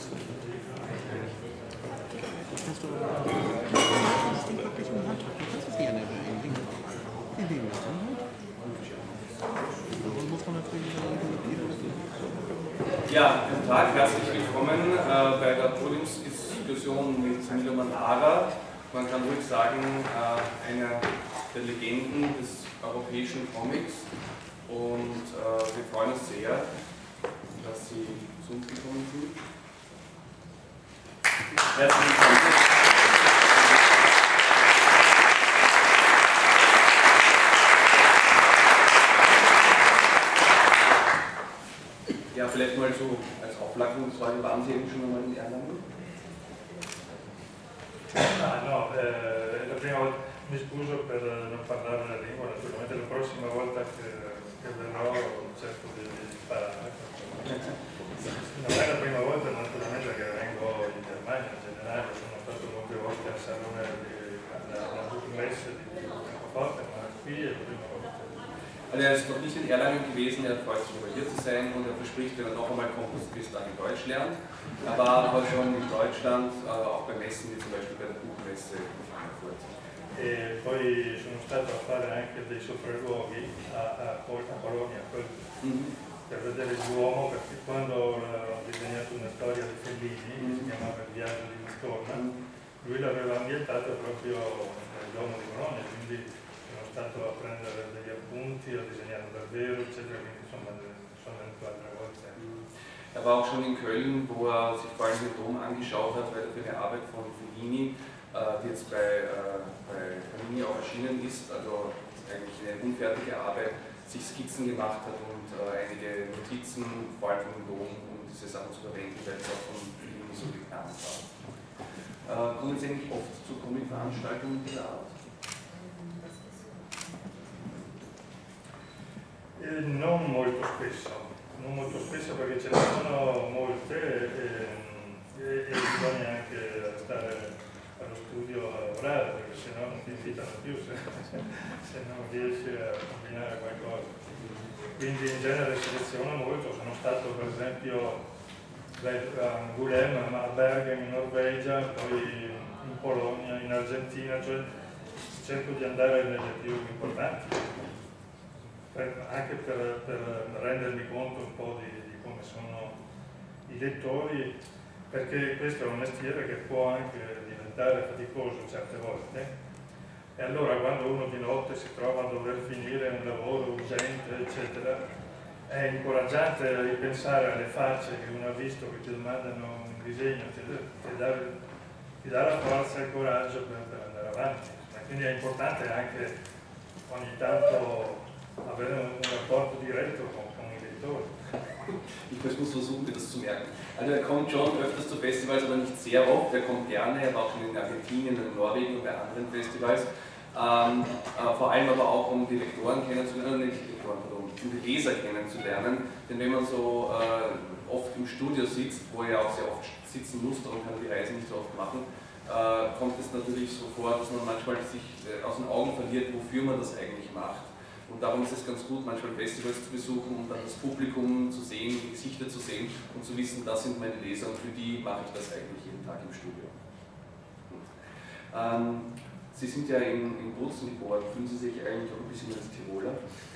Hast du das Ding wirklich in der Hand? Du kannst es nicht an den Ding in den lassen. Und muss man natürlich ja, guten Tag, herzlich willkommen bei der Podiumsdiskussion mit Milo Manara. Man kann ruhig sagen, einer der Legenden des europäischen Comics. Und wir freuen uns sehr, dass Sie zu uns gekommen sind. Herzlich willkommen. Ja, vielleicht mal so als Auflagungsfrage, waren Sie eben schon einmal in Erlangen? No, la prima volta mi scuso per non parlare la lingua, naturalmente la prossima volta che verrò cerco di imparare. Non è la prima volta naturalmente che vengo in Germania, in generale sono stato molte volte a Salone alla Buchmesse di Francoforte, ma qui è la prima volta. Also er ist noch nicht in Erlangen gewesen, er freut sich, hier zu sein und er verspricht, wenn er noch einmal kommt, dass er bis dahin Deutsch lernt. Er war aber schon in Deutschland, auch bei Messen, wie zum Beispiel bei der Buchmesse in Frankfurt. E poi sono stato a fare anche dei sopralluoghi a Bologna per vedere il Duomo, perché quando ho disegnato una storia di Fellini, che si chiamava Il viaggio di Mastorna, lui l'aveva ambientato proprio nel Duomo di Bologna, quindi sono stato a prendere degli appunti, a disegnare davvero, eccetera, quindi insomma sono venuto altre volte. Er war auch schon in Köln, wo er sich vor allem den Dom angeschaut hat, weil er für eine Arbeit von Fellini, die jetzt bei Panini auch erschienen ist, also eigentlich eine unfertige Arbeit, sich Skizzen gemacht hat und einige Notizen, vor allem vom Dom, um diese Sachen zu verwenden, weil es auch von Fellini so geplant war. Kommen Sie eigentlich oft zu Comic-Veranstaltungen dieser Art? Non molto spesso perché ce ne sono molte e bisogna anche stare allo studio a lavorare, perché sennò non ti invitano più se non riesci a combinare qualcosa. Quindi in genere seleziono molto, sono stato per esempio a Angoulême, a Bergen in Norvegia, poi in Polonia, in Argentina, cioè cerco di andare nelle più importanti. Anche per rendermi conto un po' di come sono i lettori, perché questo è un mestiere che può anche diventare faticoso certe volte, e allora quando uno di notte si trova a dover finire un lavoro urgente, eccetera, è incoraggiante ripensare alle facce che uno ha visto che ti domandano un disegno, eccetera, ti dà la forza e il coraggio per andare avanti. Quindi è importante anche ogni tanto avere un rapporto diretto con i lettori. Ich muss versuchen, mir das zu merken. Also er kommt schon öfters zu Festivals, aber nicht sehr oft. Er kommt gerne, er war auch schon in Argentinien, in Norwegen und bei anderen Festivals. Vor allem aber auch, um die Lektoren kennenzulernen, nicht Lektoren, um die Leser kennenzulernen. Denn wenn man so oft im Studio sitzt, wo er auch sehr oft sitzen muss, darum kann er die Reise nicht so oft machen, kommt es natürlich so vor, dass man manchmal sich aus den Augen verliert, wofür man das eigentlich macht. Und darum ist es ganz gut, manchmal Festivals zu besuchen und dann das Publikum zu sehen, die Gesichter zu sehen und zu wissen, das sind meine Leser und für die mache ich das eigentlich jeden Tag im Studio. Sie sind ja in Bozen geboren, fühlen Sie sich eigentlich auch ein bisschen als Tiroler?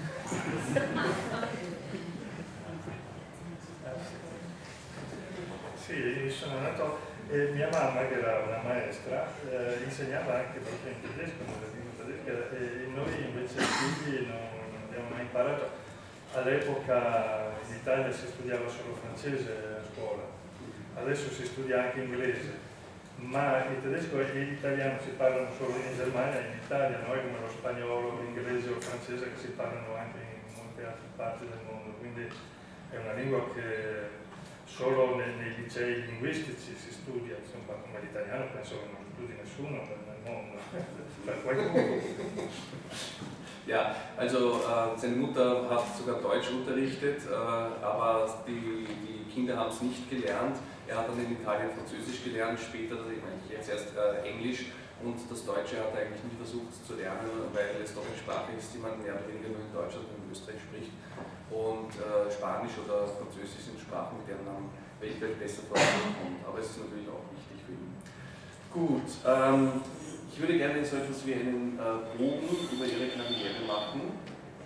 Sì, sono nato, mia mamma che era una maestra insegnava anche proprio in tedesco, nella lingua tedesca, e noi invece figli non abbiamo mai imparato. All'epoca in Italia si studiava solo francese a scuola, adesso si studia anche inglese, ma il tedesco e l'italiano si parlano solo in Germania e in Italia, noi come lo spagnolo, l'inglese o il francese che si parlano anche in molte altre parti del mondo, quindi è una lingua che solo nei licei linguistici si studia, insomma, come l'italiano penso che non studi nessuno nel mondo, per qualcuno. Ja, also seine Mutter hat sogar Deutsch unterrichtet, aber die Kinder haben es nicht gelernt. Er hat dann in Italien Französisch gelernt, später, jetzt erst Englisch, und das Deutsche hat er eigentlich nie versucht zu lernen, weil es doch eine Sprache ist, die man mehr oder weniger nur in Deutschland und in Österreich spricht. Und Spanisch oder Französisch sind Sprachen, mit denen man welche vielleicht besser vorkommt. Aber es ist natürlich auch wichtig für ihn. Gut, ich würde gerne so etwas wie einen Bogen über Ihre Karriere machen.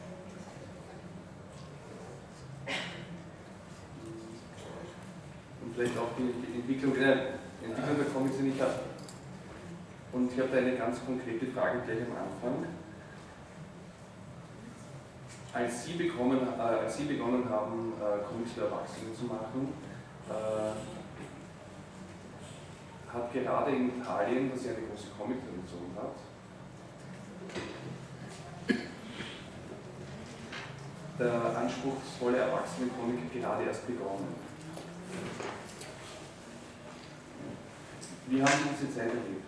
Und vielleicht auch die Entwicklung der Comics, die ich habe. Und ich habe da eine ganz konkrete Frage gleich am Anfang. Als Sie begonnen haben, Comics für Erwachsene zu machen, hat gerade in Italien, das ja eine große Comic-Tradition hat, der anspruchsvolle Erwachsenen-Comic gerade erst begonnen. Wie haben Sie diese Zeit erlebt?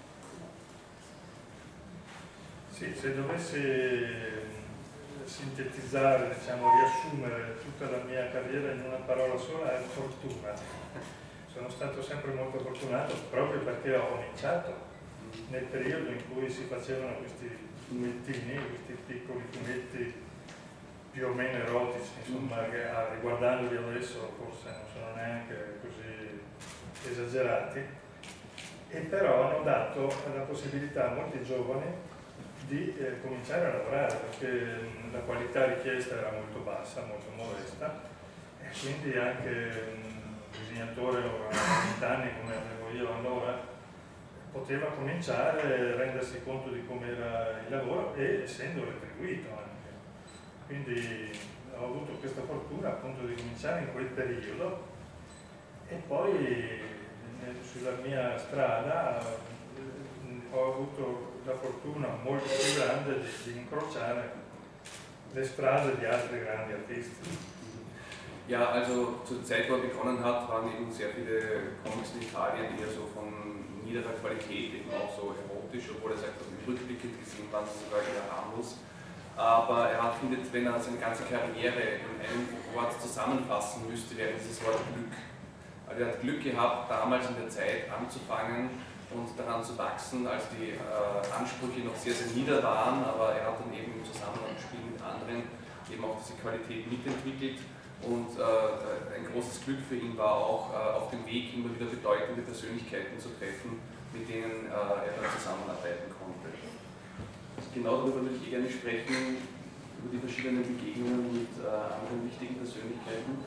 Sì, se dovessi sintetizzare, diciamo, riassumere tutta la mia carriera in una parola sola, è fortuna. Sono stato sempre molto fortunato proprio perché ho cominciato nel periodo in cui si facevano questi fumettini, questi piccoli fumetti più o meno erotici, insomma, che riguardandoli adesso forse non sono neanche così esagerati, e però hanno dato la possibilità a molti giovani di cominciare a lavorare, perché la qualità richiesta era molto bassa, molto modesta, e quindi anche un disegnatore a 20 anni come avevo io allora poteva cominciare a rendersi conto di com'era il lavoro e essendo retribuito anche. Quindi ho avuto questa fortuna appunto di cominciare in quel periodo e poi sulla mia strada ho avuto la fortuna molto più grande di incrociare le strade di altri grandi artisti. Ja, also zur Zeit, wo er begonnen hat, waren eben sehr viele Comics in Italien eher so von niederer Qualität, eben auch so erotisch, obwohl er sagt, rückblickend gesehen waren sie sogar eher harmlos. Aber er findet, wenn er seine ganze Karriere in einem Wort zusammenfassen müsste, wäre dieses Wort Glück. Also er hat Glück gehabt, damals in der Zeit anzufangen und daran zu wachsen, als die Ansprüche noch sehr, sehr nieder waren, aber er hat dann eben im Zusammenspiel mit anderen eben auch diese Qualität mitentwickelt und ein großes Glück für ihn war auch, auf dem Weg immer wieder bedeutende Persönlichkeiten zu treffen, mit denen er dann zusammenarbeiten konnte. Genau darüber würde ich gerne sprechen, über die verschiedenen Begegnungen mit anderen wichtigen Persönlichkeiten.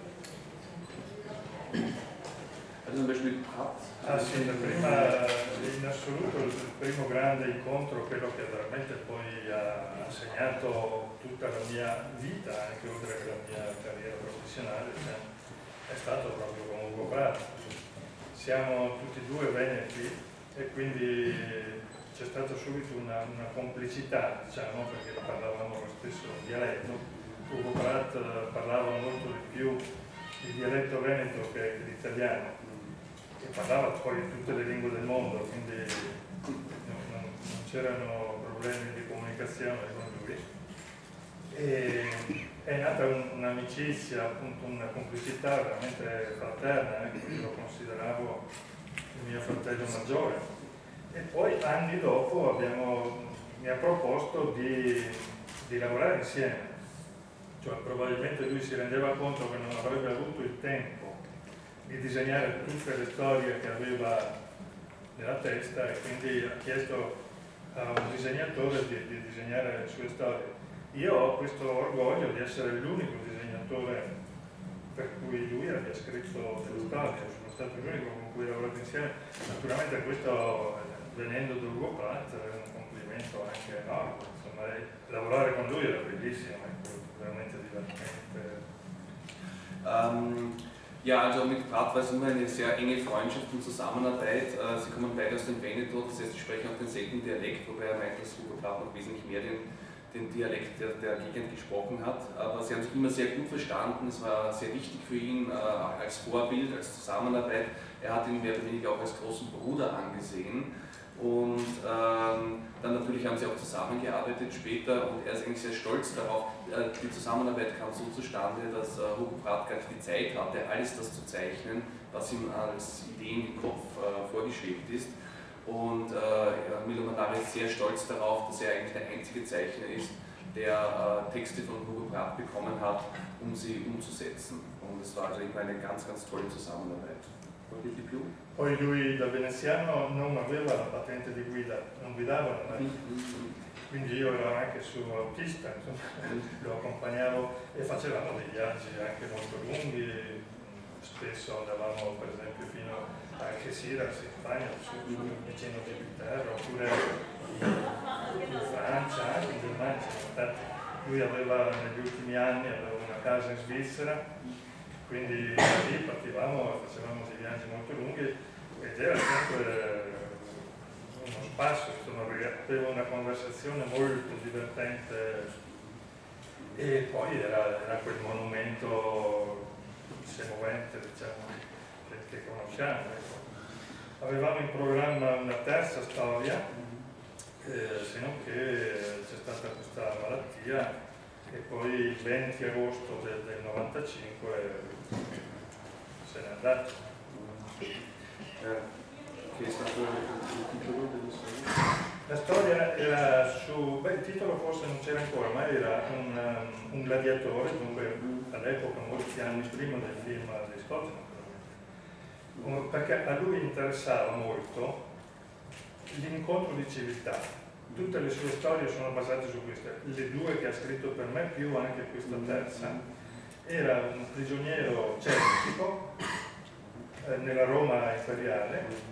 Also zum Beispiel Pratt. Sì, prima, in assoluto il primo grande incontro, quello che veramente poi ha segnato tutta la mia vita, anche oltre che la mia carriera professionale, è stato proprio con Ugo Pratt. Siamo tutti e due veneti e quindi c'è stata subito una complicità, diciamo, perché parlavamo lo stesso dialetto. Ugo Pratt parlava molto di più il dialetto veneto che l'italiano, e parlava poi tutte le lingue del mondo, quindi non c'erano problemi di comunicazione con lui. E è nata un'amicizia, appunto una complicità veramente fraterna, io lo consideravo il mio fratello maggiore. E poi anni dopo mi ha proposto di lavorare insieme, cioè probabilmente lui si rendeva conto che non avrebbe avuto il tempo di disegnare tutte le storie che aveva nella testa e quindi ha chiesto a un disegnatore di disegnare le sue storie. Io ho questo orgoglio di essere l'unico disegnatore per cui lui abbia scritto delle storie, sono stato l'unico con cui ho lavorato insieme. Naturalmente questo, venendo da Ugo Pratt, è un complimento anche enorme, insomma, lavorare con lui era bellissimo, veramente divertente. Ja, also mit Pratt war es immer eine sehr enge Freundschaft und Zusammenarbeit. Sie kommen beide aus dem Veneto, das heißt, sie sprechen auch denselben Dialekt, wobei er meint, dass Ugo Pratt noch wesentlich mehr den Dialekt der Gegend gesprochen hat. Aber sie haben sich immer sehr gut verstanden, es war sehr wichtig für ihn als Vorbild, als Zusammenarbeit. Er hat ihn mehr oder weniger auch als großen Bruder angesehen. Und dann natürlich haben sie auch zusammengearbeitet später und er ist eigentlich sehr stolz darauf. Die Zusammenarbeit kam so zustande, dass Ugo Pratt gar nicht die Zeit hatte, alles das zu zeichnen, was ihm als Ideen im Kopf vorgeschwebt ist. Und Milo Manara ist sehr stolz darauf, dass er eigentlich der einzige Zeichner ist, der Texte von Hugo Pratt bekommen hat, um sie umzusetzen. Und es war also immer eine ganz, ganz tolle Zusammenarbeit. Qualche di più? Poi lui da veneziano non aveva la patente di guida, non guidava, quindi io ero anche suo autista, lo accompagnavo e facevamo dei viaggi anche molto lunghi, spesso andavamo per esempio fino a Algeciras in Spagna, vicino di Inghilterra, oppure in Francia, anche in Germania. Lui aveva negli ultimi anni una casa in Svizzera, quindi da lì partivamo e facevamo dei viaggi molto lunghi ed era sempre uno spasso, insomma, aveva una conversazione molto divertente e poi era quel monumento semovente, diciamo, che conosciamo. Ecco. Avevamo in programma una terza storia, se non che c'è stata questa malattia e poi il 20 agosto del 95 se n'è andato. Che è stato il titolo della storia? La storia era su, il titolo forse non c'era ancora, ma era un gladiatore, dunque all'epoca molti anni prima del film di Scott, perché a lui interessava molto l'incontro di civiltà. Tutte le sue storie sono basate su queste, le due che ha scritto per me, più anche questa terza. Era un prigioniero celtico nella Roma imperiale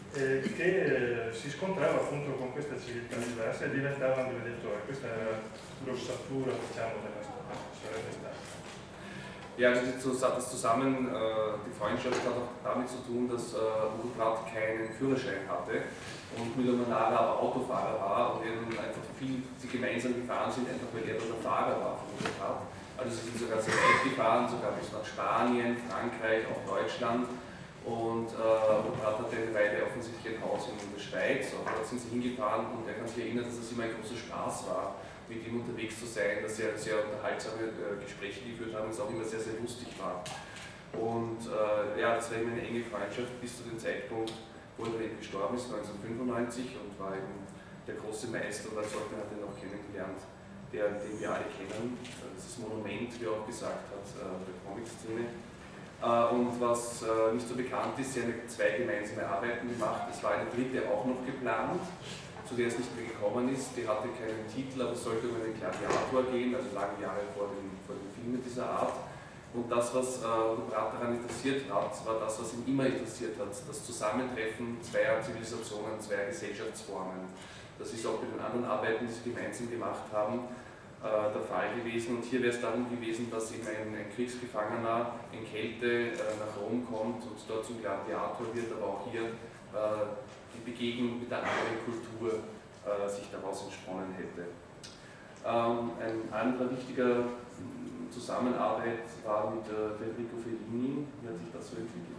che si scontrava appunto con questa civiltà diversa e diventava un gladiatore. Questa era l'ossatura, diciamo, della storia, sarebbe stata. Ja, also das zusammen, die Freundschaft hat auch damit zu tun, dass Hugo Pratt keinen Führerschein hatte und Müller Manara aber Autofahrer war und eben einfach viel, sie gemeinsam gefahren sind, einfach weil er der Fahrer war von Hugo Pratt. Also sie sind sogar sehr weit gefahren, sogar bis nach Spanien, Frankreich, auch Deutschland. Und Hugo Pratt hatte eine Weile offensichtlich ein Haus in der Schweiz, und dort sind sie hingefahren und er kann sich erinnern, dass es immer ein großer Spaß war, mit ihm unterwegs zu sein, dass sie sehr unterhaltsame Gespräche geführt haben und es auch immer sehr, sehr lustig war. Und ja, das war eben eine enge Freundschaft bis zu dem Zeitpunkt, wo er eben gestorben ist, 1995, und war eben der große Meister, oder sollte hat ihn auch kennengelernt, den wir alle kennen, dieses Monument, wie er auch gesagt hat, der Comic-Szene. Und was nicht so bekannt ist, sie haben zwei gemeinsame Arbeiten gemacht, es war eine dritte auch noch geplant, zu der es nicht mehr gekommen ist. Die hatte keinen Titel, aber es sollte um einen Gladiator gehen, also lange Jahre vor den Filmen dieser Art. Und das, was Pratt daran interessiert hat, war das, was ihn immer interessiert hat, das Zusammentreffen zweier Zivilisationen, zweier Gesellschaftsformen. Das ist auch bei den anderen Arbeiten, die sie gemeinsam gemacht haben, der Fall gewesen. Und hier wäre es darum gewesen, dass eben ein Kriegsgefangener in Kälte nach Rom kommt und dort zum Gladiator wird, aber auch hier die Begegnung mit der anderen Kultur sich daraus entsponnen hätte. Ein anderer wichtiger Zusammenarbeit war mit Federico Fellini. Wie hat sich das so entwickelt?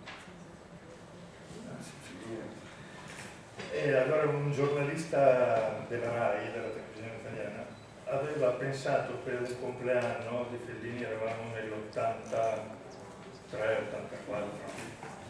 Allora un giornalista della RAI, della televisione italiana, aveva pensato per un compleanno di Fellini, eravamo nell'83-84,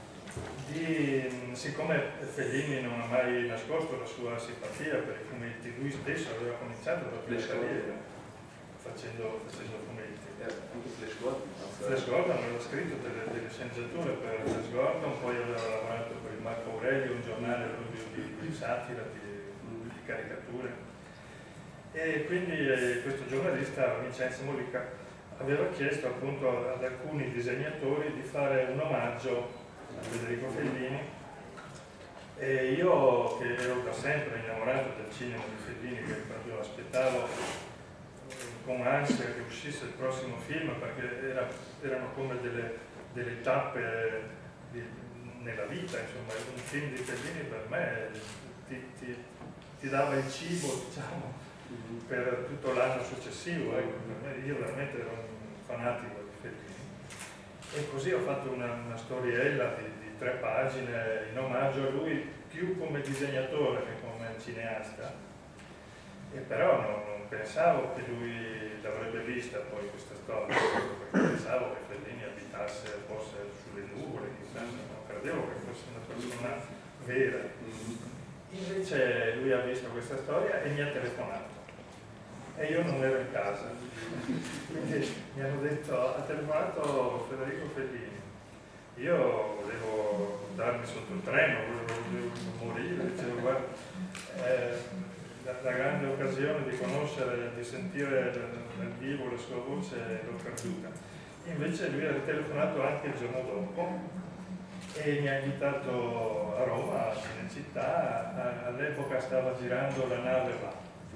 siccome Fellini non ha mai nascosto la sua simpatia per i fumetti, lui stesso aveva cominciato la sua carriera facendo fumetti. Flash Gordon aveva scritto delle sceneggiature per Flash Gordon, poi aveva lavorato per il Marco Aurelio, un giornale di satira, di caricature. E quindi questo giornalista, Vincenzo Mollica, aveva chiesto appunto ad alcuni disegnatori di fare un omaggio a Federico Fellini, e io, che ero da sempre innamorato del cinema di Fellini, che proprio aspettavo con ansia che uscisse il prossimo film, perché erano come delle tappe nella vita, insomma. Un film di Fellini per me ti dava il cibo, diciamo, per tutto l'anno successivo. Io veramente ero un fanatico di Fellini. E così ho fatto una storiella di 3 pagine in omaggio a lui, più come disegnatore che come cineasta. E però non pensavo che lui l'avrebbe vista poi questa storia, perché pensavo che Fellini abitasse forse sulle nuvole, chissà, non credevo che fosse una persona vera. Invece lui ha visto questa storia e mi ha telefonato. e io non ero in casa. Quindi mi hanno detto, ha telefonato Federico Fellini. Io volevo darmi sotto il treno, volevo morire, dicevo guarda, la grande occasione di conoscere, di sentire dal vivo la sua voce l'ho perduta. Invece lui ha telefonato anche il giorno dopo e mi ha invitato a Roma, a Cinecittà, all'epoca stava girando La nave va.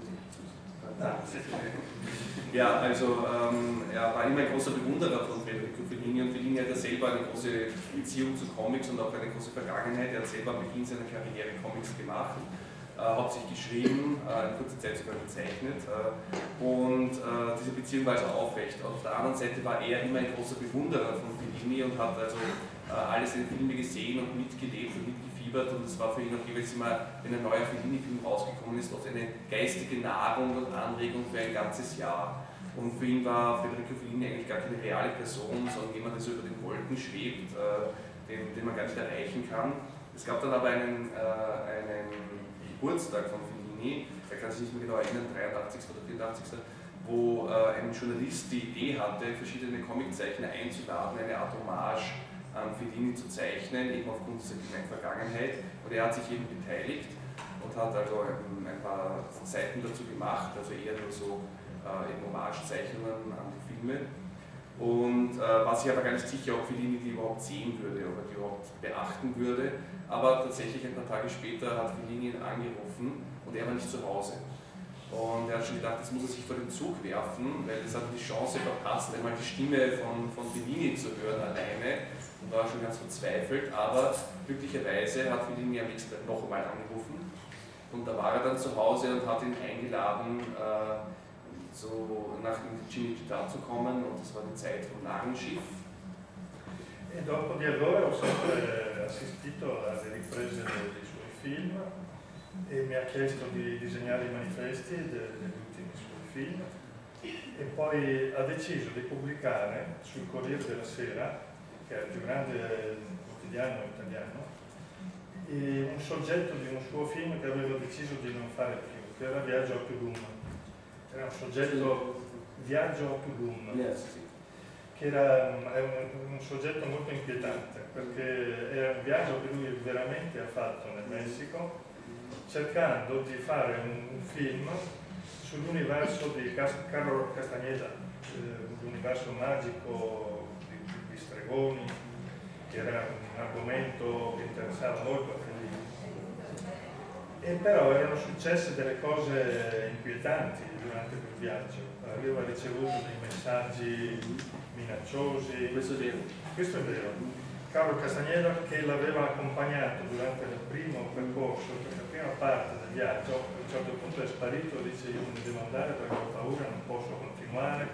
Ja, also er war immer ein großer Bewunderer von Federico Fellini und Fellini hat ja selber eine große Beziehung zu Comics und auch eine große Vergangenheit. Er hat selber am Beginn seiner Karriere Comics gemacht, hauptsächlich geschrieben, in kurzer Zeit sogar gezeichnet und diese Beziehung war also aufrecht. Auf der anderen Seite war er immer ein großer Bewunderer von Fellini und hat also alle seine Filme gesehen und mitgelebt und mitgefiebert und es war für ihn auch jeweils immer, wenn ein neuer Fellini-Film rausgekommen ist, oft eine geistige Nahrung und Anregung für ein ganzes Jahr. Und für ihn war Federico Fellini eigentlich gar keine reale Person, sondern jemand, der so über den Wolken schwebt, den man gar nicht erreichen kann. Es gab dann aber einen Geburtstag von Fellini, er kann sich nicht mehr genau erinnern, 83. oder 84. Wo ein Journalist die Idee hatte, verschiedene Comiczeichner einzuladen, eine Art Hommage an Fellini zu zeichnen, eben aufgrund dieser kleinen Vergangenheit. Und er hat sich eben beteiligt und hat also ein paar Seiten dazu gemacht, also eher nur so eben Hommage-Zeichnungen an die Filme. Und war sich aber gar nicht sicher, ob Fellini die überhaupt sehen würde, ob er die überhaupt beachten würde. Aber tatsächlich ein paar Tage später hat Fellini ihn angerufen und er war nicht zu Hause. Und er hat schon gedacht, jetzt muss er sich vor den Zug werfen, weil es hat die Chance verpasst, einmal die Stimme von Fellini zu hören alleine und war schon ganz verzweifelt. Aber glücklicherweise hat Fellini am nächsten Tag noch einmal angerufen und da war er dann zu Hause und hat ihn eingeladen, so nach Cinecittà zu kommen und das war die Zeit vom Narrenschiff. E dopo di allora ho sempre assistito alle riprese dei suoi film e mi ha chiesto di disegnare i manifesti degli ultimi suoi film e poi ha deciso di pubblicare sul Corriere della Sera, che è il più grande quotidiano italiano, un soggetto di un suo film che aveva deciso di non fare più, che era Viaggio a Tulum. Era un soggetto Viaggio a Tulum, che era un soggetto molto inquietante perché era un viaggio che lui veramente ha fatto nel Messico cercando di fare un film sull'universo di Carlo Castaneda, l'universo magico di stregoni, che era un argomento che interessava molto a Fellini. E però erano successe delle cose inquietanti durante quel viaggio. Aveva ricevuto dei messaggi minacciosi. Questo è vero. Carlo Castaneda, che l'aveva accompagnato durante il primo percorso, la prima parte del viaggio, a un certo punto è sparito, dice io me ne devo andare perché ho paura, non posso continuare.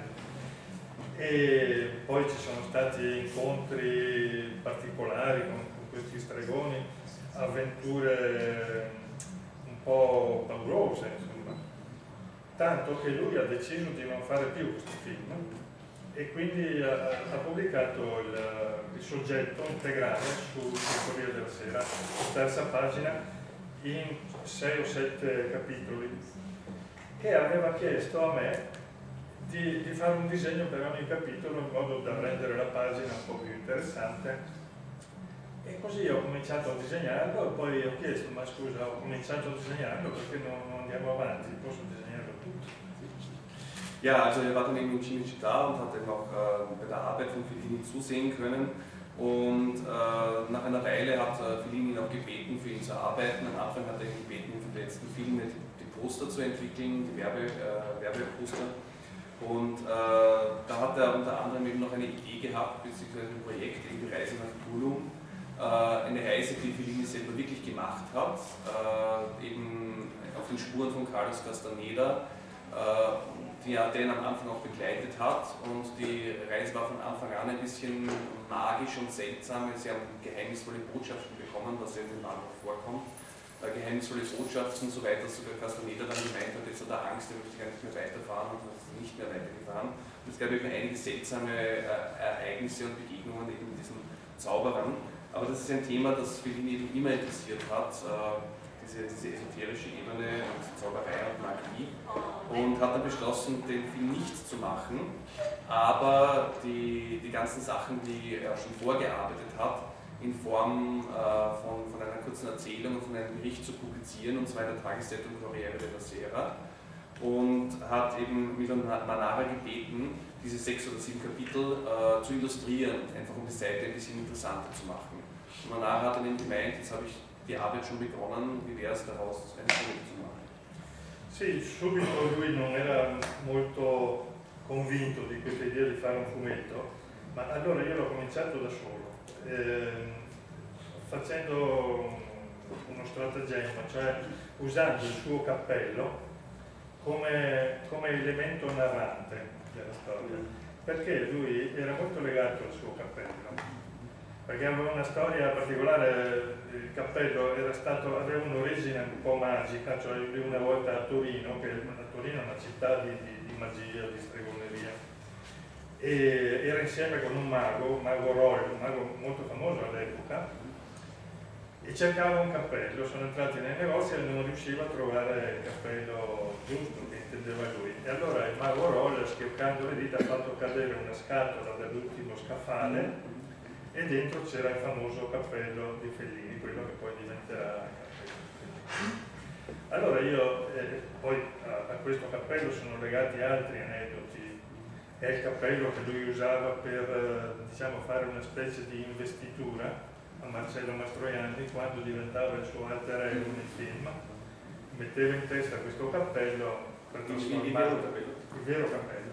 E poi ci sono stati incontri particolari con questi stregoni, avventure un po' paurose, insomma. Tanto che lui ha deciso di non fare più questo film e quindi ha pubblicato il soggetto integrale sul Corriere della Sera, terza pagina, in 6 o 7 capitoli, e aveva chiesto a me di fare un disegno per ogni capitolo in modo da rendere la pagina un po' più interessante. E così ho cominciato a disegnarlo e poi ho chiesto, ma scusa, ho cominciato a disegnarlo perché non andiamo avanti, posso disegnarlo tutto? Ja, also er war dann eben in Cinecittà und hat dann auch bei der Arbeit von Fellini zusehen können. Und nach einer Weile hat Fellini ihn auch gebeten, für ihn zu arbeiten. Am Anfang hat er ihn gebeten, für die letzten Filme die Poster zu entwickeln, die Werbeposter. Und da hat er unter anderem eben noch eine Idee gehabt, beziehungsweise ein Projekt, eben die Reise nach Tulum. Eine Reise, die Fellini selber wirklich gemacht hat, eben auf den Spuren von Carlos Castaneda, die er den am Anfang auch begleitet hat, und die Reise war von Anfang an ein bisschen magisch und seltsam. Sie haben geheimnisvolle Botschaften bekommen, was ja in dem Land auch vorkommt. Geheimnisvolle Botschaften, soweit dass sogar Castaneda dann gemeint hat, jetzt hat er Angst, er möchte gar nicht mehr weiterfahren und hat nicht mehr weitergefahren. Und es gab eben einige seltsame Ereignisse und Begegnungen eben mit diesen Zauberern. Aber das ist ein Thema, das Fellini eben immer interessiert hat, diese esoterische Ebene und Zauberei und Magie und hat dann beschlossen, den Film nicht zu machen, aber die ganzen Sachen, die er schon vorgearbeitet hat, in Form von einer kurzen Erzählung und von einem Bericht zu publizieren, und zwar in der Tageszeitung Corriere della Sera, und hat eben Milan Manara gebeten, diese 6 oder 7 Kapitel zu illustrieren, einfach um die Seite ein bisschen interessanter zu machen. Und Manara hat dann eben gemeint, jetzt habe ich die Arbeit schon begonnen, wie wäre es daraus, ein Projekt zu machen? Sì, subito lui non era molto convinto di questa idea di fare un fumetto, ma allora io l'ho cominciato da solo, facendo uno stratagemma, cioè usando il suo cappello come elemento narrante della storia, perché lui era molto legato al suo cappello, perché aveva una storia particolare. Il cappello aveva un'origine un po' magica, cioè lui una volta a Torino, che Torino è una città di magia, di stregoneria, e era insieme con un mago Roll, un mago molto famoso all'epoca, e cercava un cappello. Sono entrati nei negozi e non riusciva a trovare il cappello giusto che intendeva lui, e allora il mago Roll, schioccando le dita, ha fatto cadere una scatola dall'ultimo scaffale e dentro c'era il famoso cappello di Fellini, quello che poi diventerà il cappello di Fellini. Allora io poi a questo cappello sono legati altri aneddoti. È il cappello che lui usava per diciamo, fare una specie di investitura a Marcello Mastroianni quando diventava il suo alter ego nel film. Metteva in testa questo cappello per trasformarlo il vero cappello.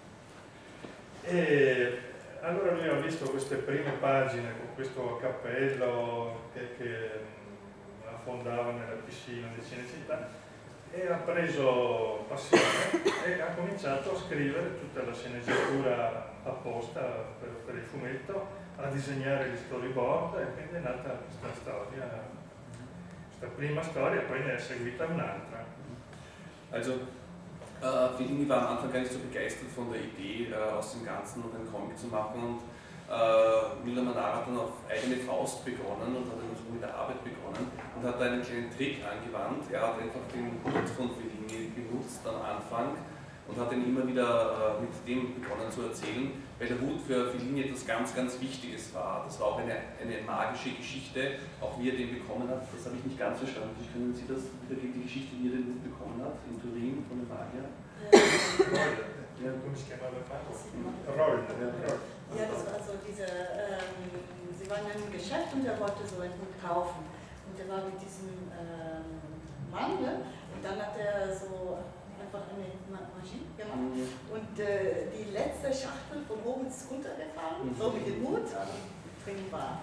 E allora lui ha visto queste prime pagine con questo cappello che affondava nella piscina di Cinecittà e ha preso passione e ha cominciato a scrivere tutta la sceneggiatura apposta per il fumetto, a disegnare gli storyboard, e quindi è nata questa storia, questa prima storia, poi ne è seguita un'altra. Also Fellini war am Anfang gar nicht so begeistert von der Idee, aus dem Ganzen noch einen Comic zu machen, und Milan Manara hat dann auf eigene Faust begonnen und hat dann so mit der Arbeit begonnen und hat da einen kleinen Trick angewandt. Er hat einfach den Hut von Fellini benutzt am Anfang und hat dann immer wieder mit dem begonnen zu erzählen, weil der Hut für Fellini etwas ganz, ganz Wichtiges war. Das war auch eine magische Geschichte, auch wie er den bekommen hat. Das habe ich nicht ganz verstanden. Wie können Sie das wiedergeben, die Geschichte, wie er den Hut bekommen hat, in Turin von dem Magier? Ja, come si chiamava il mago? Roll. Ja, das war so diese, sie waren in einem Geschäft und er wollte so einen Hut kaufen. Und er war mit diesem Mann, ne? Und dann hat er so einfach eine Magie gemacht. Und die letzte Schachtel von oben ist runtergefallen, so mit dem Hut, drin war.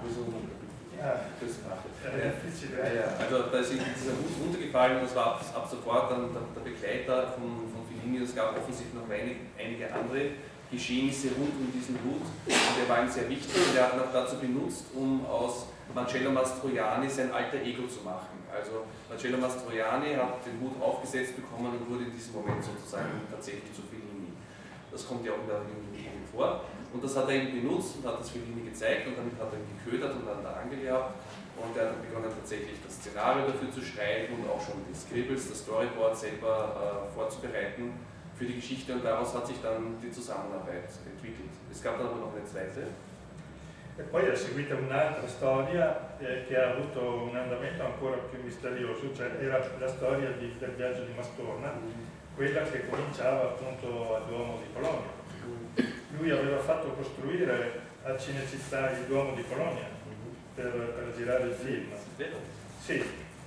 Also da ist dieser Hut runtergefallen, und das war ab sofort dann der Begleiter von Fellini. Es gab offensichtlich noch einige andere Geschehnisse rund um diesen Hut, und der war ihm sehr wichtig, und er hat ihn auch dazu benutzt, um aus Marcello Mastroianni sein alter Ego zu machen. Also Marcello Mastroianni hat den Hut aufgesetzt bekommen und wurde in diesem Moment sozusagen tatsächlich zu Fellini. Das kommt ja auch in der Film vor. Und das hat er eben benutzt und hat das Fellini gezeigt, und damit hat er ihn geködert und an der Angel gehabt. Und er hat begonnen tatsächlich das Szenario dafür zu schreiben und auch schon die Scribbles, das Storyboard selber vorzubereiten für die Geschichte, und daraus hat sich dann die Zusammenarbeit entwickelt. Es gab dann aber noch eine zweite. E poi è seguita un'altra storia che ha avuto un andamento ancora più misterioso, cioè era la storia del viaggio di Mastorna, quella che cominciava appunto al Duomo di Bologna. Lui aveva fatto costruire a Cinecittà il Duomo di Bologna per girare il film. Sì,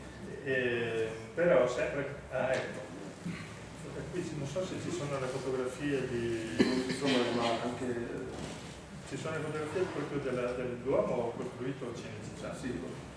però sempre... Ah, ecco. Qui non so se ci sono le fotografie di... Ci sono le fotografie proprio del Duomo costruito a Cinecittà. Sì.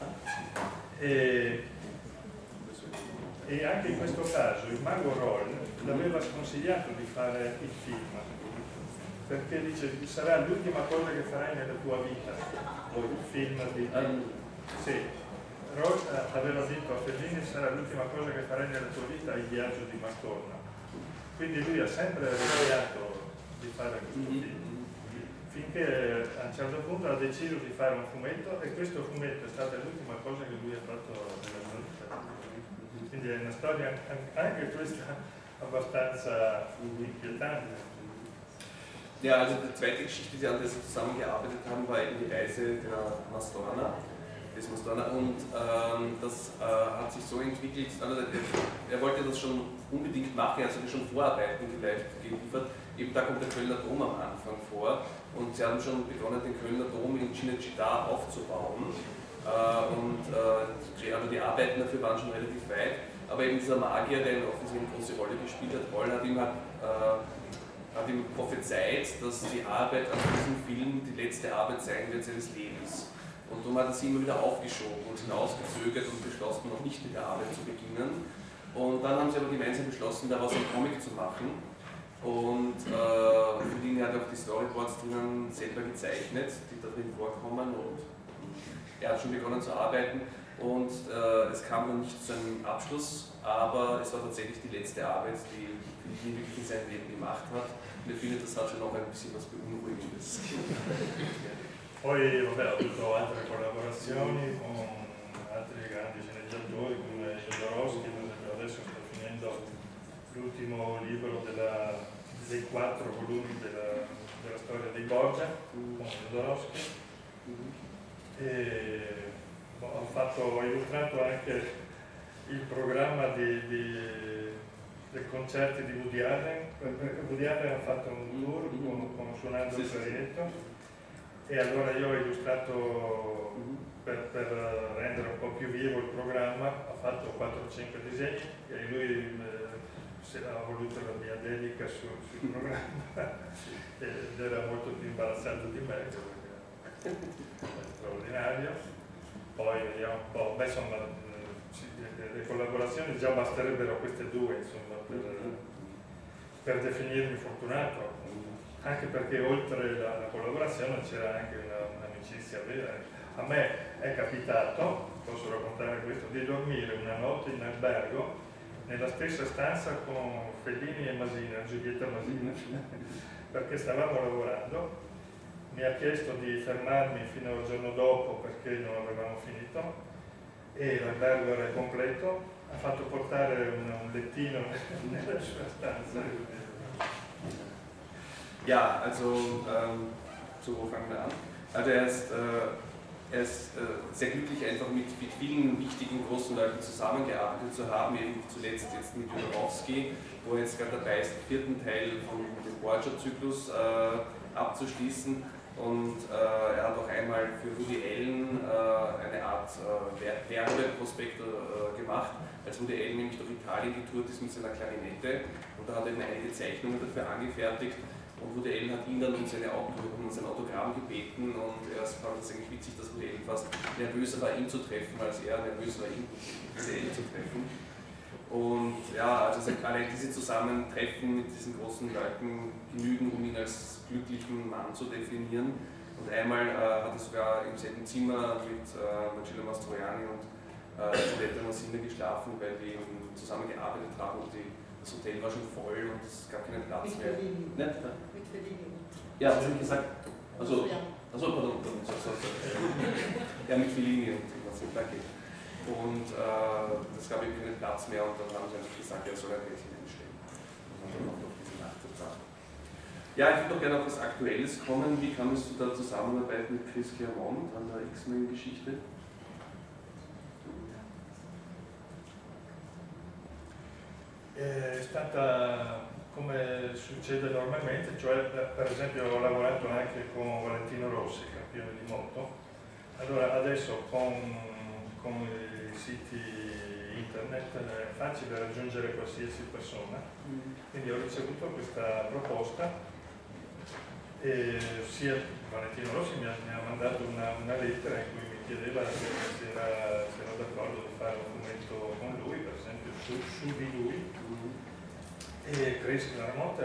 E anche in questo caso il mago Roll l'aveva sconsigliato di fare il film, perché dice sarà l'ultima cosa che farai nella tua vita, il film di... Sì, Roll aveva detto a Fellini sarà l'ultima cosa che farai nella tua vita, il viaggio di Mastorna. Quindi lui ha sempre rischiato di fare questo film. finché a un certo punto ha deciso di fare un fumetto e questo fumetto è stata l'ultima cosa che lui ha fatto nella sua vita. Quindi è una storia anche questa abbastanza inquietante. Ja, also die zweite Geschichte, an der sie zusammengearbeitet haben, war eben die Reise der Mastorna, des Mastorna, und das hat sich so entwickelt, also er wollte das schon unbedingt machen, er hat schon Vorarbeiten geliefert, eben da kommt der Kölner Dom am Anfang vor und sie haben schon begonnen, den Kölner Dom in Cinecittà aufzubauen also die Arbeiten dafür waren schon relativ weit, aber eben dieser Magier, der offensichtlich eine große Rolle gespielt hat, Paul hat ihm prophezeit, dass die Arbeit an diesem Film die letzte Arbeit sein wird seines Lebens. Und darum hat er sie immer wieder aufgeschoben und hinausgezögert und beschlossen, noch nicht mit der Arbeit zu beginnen. Und dann haben sie aber gemeinsam beschlossen, daraus einen Comic zu machen. Und für den hat er auch die Storyboards drinnen selber gezeichnet, die da drin vorkommen. Und er hat schon begonnen zu arbeiten. Und es kam dann nicht zu einem Abschluss, aber es war tatsächlich die letzte Arbeit, die ihn wirklich in seinem Leben gemacht hat. Und ich finde, das hat schon noch ein bisschen was Beunruhigendes. Poi vabbè, ho avuto altre collaborazioni con altri grandi sceneggiatori come Jodorowsky, per esempio adesso sto finendo l'ultimo libro dei 4 volumi della storia dei Borgia con Jodorowsky. E ho illustrato anche il programma dei concerti di Woody Allen, perché Woody Allen ha fatto un tour suonando il clarinetto e allora io ho illustrato per rendere un po' più vivo il programma, ho fatto 4-5 disegni e lui ha voluto la mia dedica sul programma ed era molto più imbarazzato di me perché è straordinario. Poi vediamo un po', beh insomma le collaborazioni già basterebbero queste due insomma per definirmi fortunato, anche perché oltre la collaborazione c'era anche un'amicizia vera. A me è capitato, posso raccontare questo, di dormire una notte in albergo nella stessa stanza con Fellini e Masina, Giulietta Masina, perché stavamo lavorando. Mi ha chiesto di fermarmi fino al giorno dopo perché non avevamo finito e l'albergo era completo, ha fatto portare un lettino nella sua stanza. Ja, also so fangen wir an. Also er ist sehr glücklich, einfach mit vielen wichtigen großen Leuten zusammengearbeitet zu haben, eben zuletzt jetzt mit Jodorowsky, wo er jetzt gerade dabei ist, den 4. Teil von dem Borgia-Zyklus abzuschließen. Und er hat auch einmal für Woody Allen eine Art Werbeprospekt gemacht, als Woody Allen nämlich durch Italien getourt ist mit seiner Klarinette und da hat er einige Zeichnungen dafür angefertigt und Woody Allen hat ihn dann um sein Autogramm gebeten und er fand es eigentlich witzig, dass Woody Allen fast nervöser war, ihn zu treffen, als er nervös war, ihn zu treffen. Und ja, also allein diese Zusammentreffen mit diesen großen Leuten genügen, um ihn als glücklichen Mann zu definieren. Und einmal hat er sogar im selben Zimmer mit Marcello Mastroianni und Giulietta Masina geschlafen, weil die zusammengearbeitet haben und das Hotel war schon voll und es gab keinen Platz mehr. Mit Fellini. Ja, was habe ich gesagt? Also, pardon. Ja, mit Fellini und was danke. Und es gab eben keinen Platz mehr und dann haben sie einfach gesagt, er soll ein Rädchen einstellen. Und dann auch noch diese Nacht verbracht. Ja, ich würde doch gerne auf was Aktuelles kommen. Wie kam es zu der Zusammenarbeit mit Chris Claremont an der X-Men-Geschichte? È stata come succede normalmente, cioè per esempio ho lavorato anche con Valentino Rossi, campione di moto. Allora adesso con i siti internet è facile raggiungere qualsiasi persona, quindi ho ricevuto questa proposta e sia Valentino Rossi mi ha mandato una lettera in cui mi chiedeva se era d'accordo di fare un fumetto con lui, per esempio su di lui, e Chris Claremont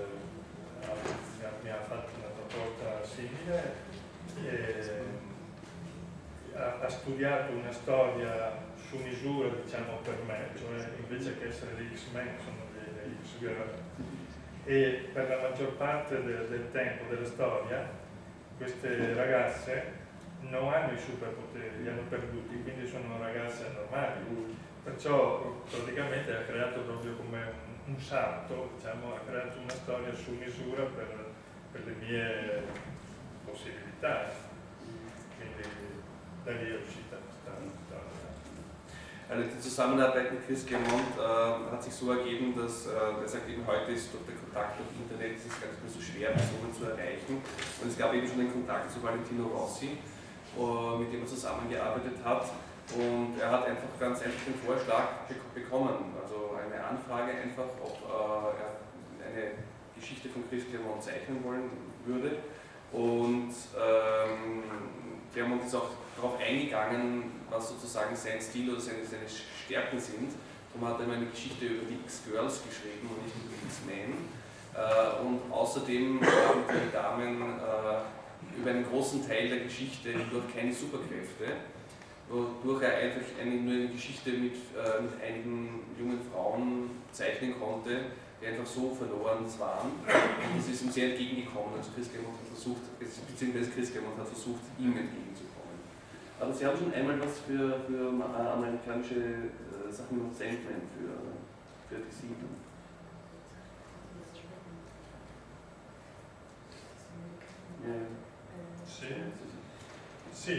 mi ha fatto una proposta simile e ha studiato una storia su misura, diciamo, per me, cioè invece che essere degli X-Men sono degli X-Girl, e per la maggior parte del tempo della storia queste ragazze non hanno i superpoteri, li hanno perduti, quindi sono ragazze normali. Perciò praticamente ha creato proprio come un salto, diciamo, ha creato una storia su misura per le mie possibilità. Quindi da lì è uscita questa storia. Also die Zusammenarbeit mit Chris Claremont hat sich so ergeben, dass er sagt, eben heute ist durch den Kontakt durch Internet ist es gar nicht mehr so schwer, Personen zu erreichen. Und es gab eben schon den Kontakt zu Valentino Rossi, mit dem er zusammengearbeitet hat. Und er hat einfach ganz einfach den Vorschlag bekommen, also eine Anfrage einfach, ob er eine Geschichte von Chris Claremont zeichnen wollen würde. Und Claremont ist auch darauf eingegangen, was sozusagen sein Stil oder seine Stärken sind. Darum hat er immer eine Geschichte über die X-Girls geschrieben und nicht über die X-Men. Und außerdem haben die Damen über einen großen Teil der Geschichte hindurch keine Superkräfte, wodurch er einfach nur eine Geschichte mit einigen jungen Frauen zeichnen konnte, die einfach so verloren waren. Und das ist ihm sehr entgegengekommen. Also Chris Claremont hat versucht, beziehungsweise Chris Claremont hat versucht, ihm entgegenzukommen. Aber Sie haben schon einmal was für amerikanische Sachen mit Sandman für die Sieben. Sì,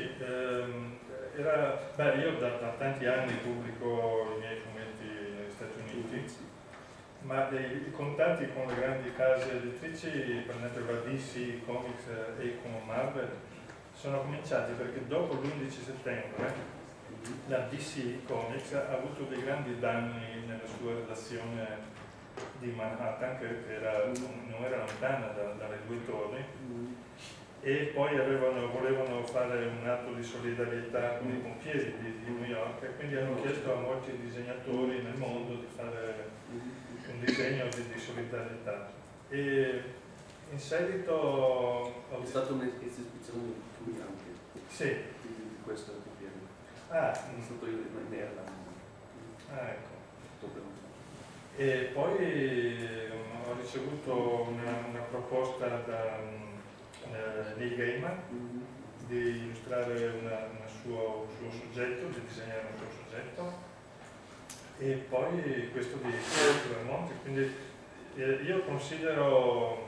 io da tanti anni pubblico i miei fumetti negli Stati Uniti, ma i contatti con le grandi case editrici, per esempio la DC Comics e con Marvel, sono cominciati perché dopo l'11 settembre la DC Comics ha avuto dei grandi danni nella sua redazione di Manhattan, che non era lontana dalle due torri, e poi volevano fare un atto di solidarietà con i pompieri di New York, e quindi hanno chiesto a molti disegnatori nel mondo di fare un disegno di solidarietà. E in seguito È stata un'esibizione di anche di questo pompiere. È stato in Erland. Ecco. E poi ho ricevuto una proposta da Neil Gaiman di illustrare un suo soggetto, di disegnare un suo soggetto, e poi questo di Claremont. Quindi io considero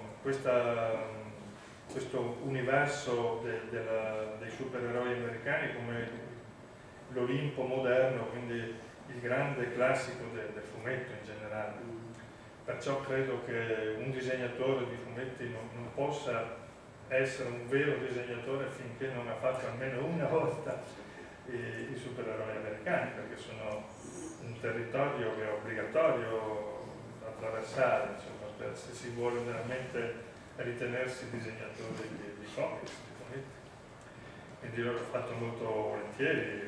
questo universo dei supereroi americani come l'Olimpo moderno, quindi il grande classico del fumetto in generale. Perciò credo che un disegnatore di fumetti non possa essere un vero disegnatore finché non ha fatto almeno una volta i supereroi americani, perché sono un territorio che è obbligatorio attraversare, insomma, se si vuole veramente ritenersi disegnatori di comics, di fumetti. Quindi io l'ho fatto molto volentieri,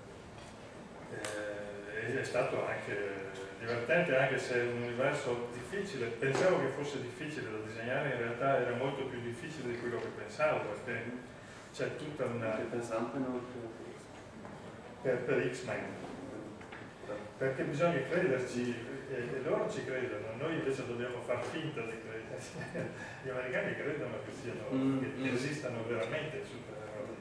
e è stato anche divertente, anche se è un universo difficile. Pensavo che fosse difficile da disegnare, in realtà era molto più difficile di quello che pensavo, perché c'è tutta una... per X-Men, perché bisogna crederci, e loro ci credono, noi invece dobbiamo far finta di crederci. Gli americani credono che esistano veramente supereroi.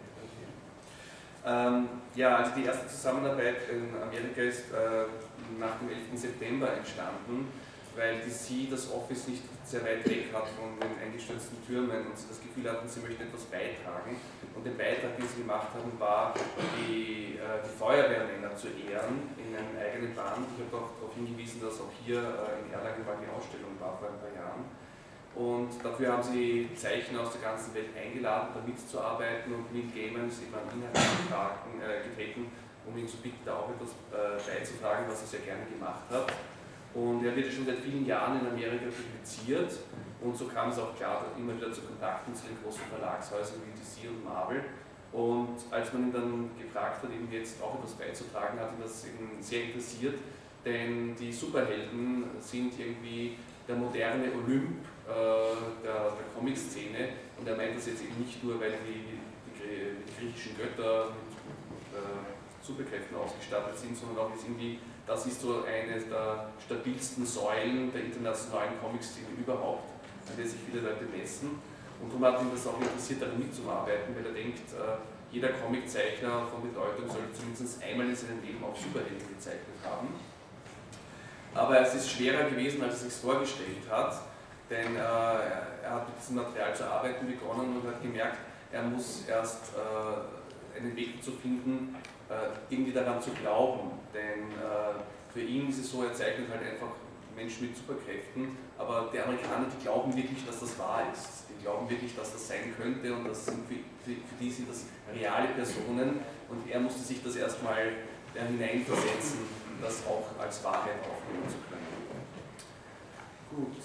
Ja, also die erste Zusammenarbeit in Amerika ist nach dem 11. September entstanden, weil DC das Office nicht sehr weit weg hat von den eingestürzten Türmen und sie das Gefühl hatten, sie möchten etwas beitragen. Und den Beitrag, den sie gemacht haben, war, die Feuerwehrmänner zu ehren in einem eigenen Band. Ich habe auch darauf hingewiesen, dass auch hier in Erlangen mal die Ausstellung war vor ein paar Jahren. Und dafür haben sie Zeichner aus der ganzen Welt eingeladen, da mitzuarbeiten, und Neil Gaiman ist eben an ihn herangetreten, um ihn zu bitten, da auch etwas beizutragen, was er sehr gerne gemacht hat. Und er wird schon seit vielen Jahren in Amerika publiziert, und so kam es auch klar immer wieder zu Kontakten zu den großen Verlagshäusern wie DC und Marvel. Und als man ihn dann gefragt hat, eben jetzt auch etwas beizutragen, hat ihn das eben sehr interessiert, denn die Superhelden sind irgendwie der moderne Olymp der Comic-Szene, und er meint das jetzt eben nicht nur, weil die griechischen Götter mit Superkräften ausgestattet sind, sondern auch irgendwie, das ist so eine der stabilsten Säulen der internationalen Comic-Szene überhaupt, an der sich viele Leute messen. Und darum hat ihn das auch interessiert, daran mitzuarbeiten, weil er denkt, jeder Comiczeichner von Bedeutung sollte zumindest einmal in seinem Leben auch Superhelden gezeichnet haben. Aber es ist schwerer gewesen, als er sich vorgestellt hat, denn er hat mit diesem Material zu arbeiten begonnen und hat gemerkt, er muss erst einen Weg zu finden, irgendwie daran zu glauben. Denn für ihn ist es so, er zeichnet halt einfach Menschen mit Superkräften, aber die Amerikaner, die glauben wirklich, dass das wahr ist. Die glauben wirklich, dass das sein könnte und das sind für die sind das reale Personen und er musste sich das erstmal hineinversetzen, das auch als Wahrheit aufnehmen zu können. Gut.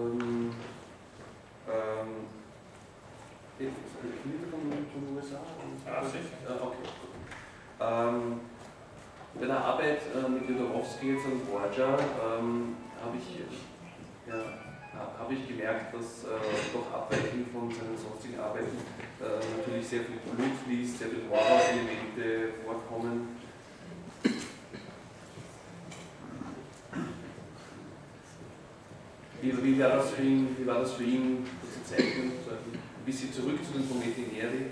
Von den USA? Sicher. Okay. Bei der Arbeit mit Jodorowsky und Borgia habe ich gemerkt, dass doch abweichend von seinen sonstigen Arbeiten natürlich sehr viel Blut fließt, sehr viel Horror-Elemente vorkommen. Wie war das für ihn, das zu zeichnen? Ein bisschen zurück zu den Fumetti Neri.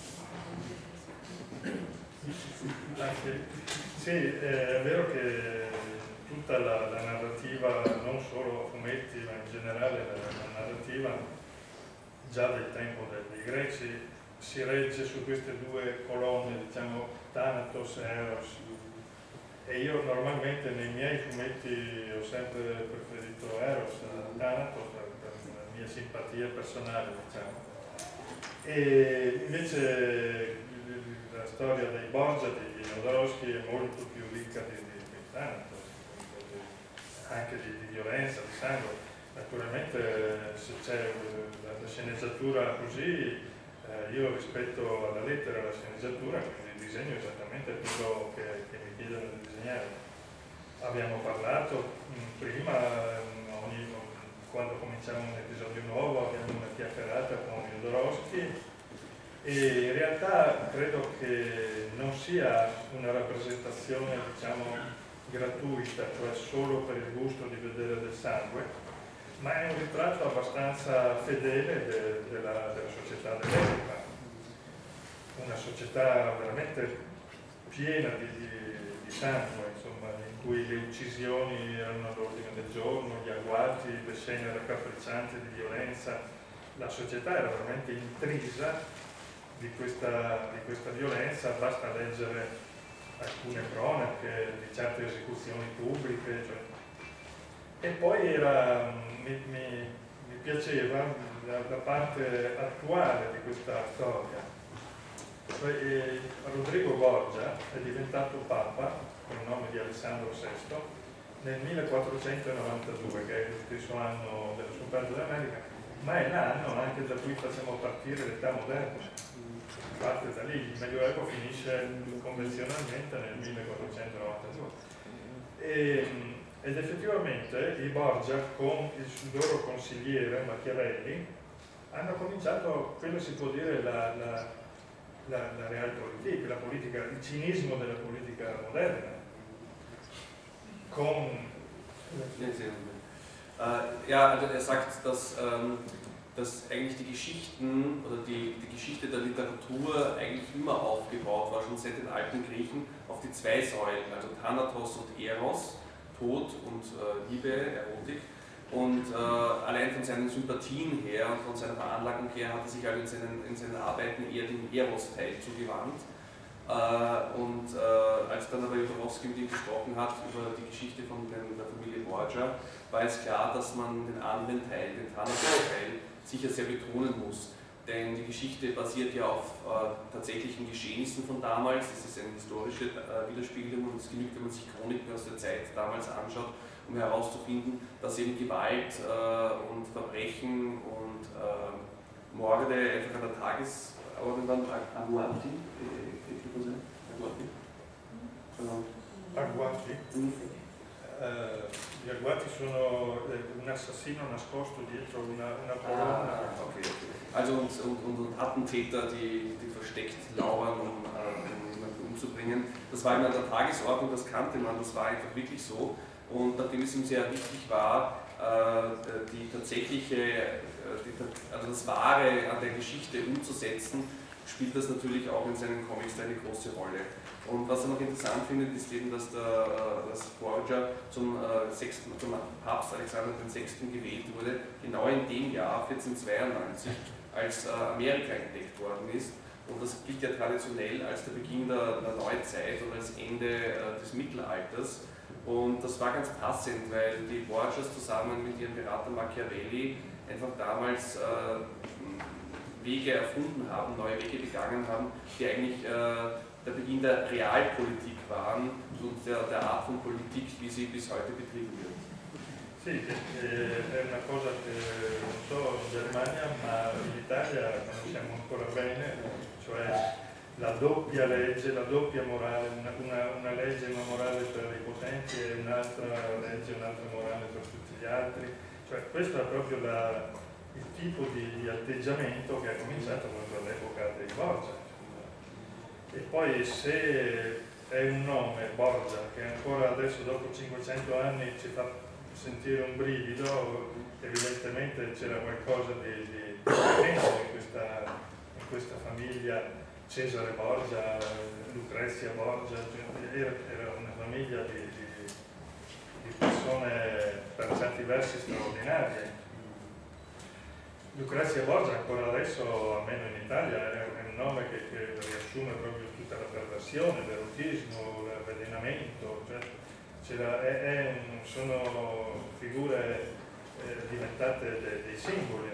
Sì, è vero che tutta la narrativa, non solo fumetti, ma in generale la narrativa, già del tempo dei greci, si regge su queste due colonne, diciamo, Thanatos e Eros. E io normalmente nei miei fumetti ho sempre preferito Eros a Thanatos per la mia simpatia personale, diciamo. E invece la storia dei Borgia, di Jodorowsky, è molto più ricca di Thanatos, anche di violenza, di sangue. Naturalmente se c'è la sceneggiatura così, io rispetto alla lettera la sceneggiatura, quindi il disegno è esattamente quello che mi chiedono di disegnare. Abbiamo parlato prima, quando cominciamo un episodio nuovo, abbiamo una chiacchierata con Jodorowsky e in realtà credo che non sia una rappresentazione, diciamo, gratuita, cioè solo per il gusto di vedere del sangue, ma è un ritratto abbastanza fedele della società dell'epoca, una società veramente piena di sangue, insomma, in cui le uccisioni erano all'ordine del giorno, gli agguati, le scene raccapriccianti di violenza. La società era veramente intrisa di questa violenza, basta leggere alcune cronache di certe esecuzioni pubbliche, cioè. E poi mi piaceva la parte attuale di questa storia. Rodrigo Borgia è diventato Papa con il nome di Alessandro VI nel 1492, che è lo stesso anno dello scoperta dell'America, ma è l'anno anche da cui facciamo partire l'età moderna. Parte da lì, il Medioevo finisce convenzionalmente nel 1492. Ed effettivamente i Borgia con il loro consigliere Machiavelli hanno cominciato, quello si può dire la realpolitik, la politica, il cinismo della politica moderna. Ja, also er sagt, dass eigentlich die Geschichten oder die Geschichte der Literatur eigentlich immer aufgebaut war, schon seit den alten Griechen, auf die zwei Säulen, also Thanatos und Eros, Tod und Liebe, Erotik. Und allein von seinen Sympathien her und von seiner Veranlagung her hat er sich also in seinen Arbeiten eher dem Eros-Teil zugewandt. Als dann aber Jodorowsky mit ihm gesprochen hat über die Geschichte von der Familie Borgia, war es klar, dass man den anderen Teil, den Thanatos-Teil, sicher sehr betonen muss. Denn die Geschichte basiert ja auf tatsächlichen Geschehnissen von damals. Es ist eine historische Widerspiegelung und es genügt, wenn man sich Chroniken aus der Zeit damals anschaut, um herauszufinden, dass eben Gewalt und Verbrechen und Morde einfach an der Tagesordnung waren. Agguati? Agguati? Gli agguati sono un assassino nascosto dietro una colonna. Okay. Also und Attentäter, die versteckt lauern, um jemanden umzubringen. Das war immer an der Tagesordnung, das kannte man, das war einfach wirklich so. Und nachdem es ihm sehr wichtig war, die tatsächliche, also das Wahre an der Geschichte umzusetzen, spielt das natürlich auch in seinen Comics eine große Rolle. Und was er noch interessant findet, ist eben, dass Borgia zum Papst Alexander VI. Gewählt wurde, genau in dem Jahr 1492, als Amerika entdeckt worden ist. Und das gilt ja traditionell als der Beginn der Neuzeit und als Ende des Mittelalters. Und das war ganz passend, weil die Borgias zusammen mit ihrem Berater Machiavelli einfach damals Wege erfunden haben, neue Wege begangen haben, die eigentlich der Beginn der Realpolitik waren und der Art von Politik, wie sie bis heute betrieben wird. Sì, è una cosa che non so in Germania, ma in Italia conosciamo ancora bene, cioè la doppia legge, la doppia morale, una legge, una morale per i potenti e un'altra legge, un'altra morale per tutti gli altri. Cioè, questo è proprio il tipo di atteggiamento che è cominciato proprio all'epoca dei Borgia. E poi se è un nome, Borgia, che ancora adesso dopo 500 anni ci fa sentire un brivido, evidentemente c'era qualcosa di potente in questa famiglia. Cesare Borgia, Lucrezia Borgia, era una famiglia di persone per certi versi straordinarie. Lucrezia Borgia ancora adesso, almeno in Italia, è un nome che riassume proprio tutta la perversione, l'erotismo, l'avvelenamento, cioè sono figure diventate dei simboli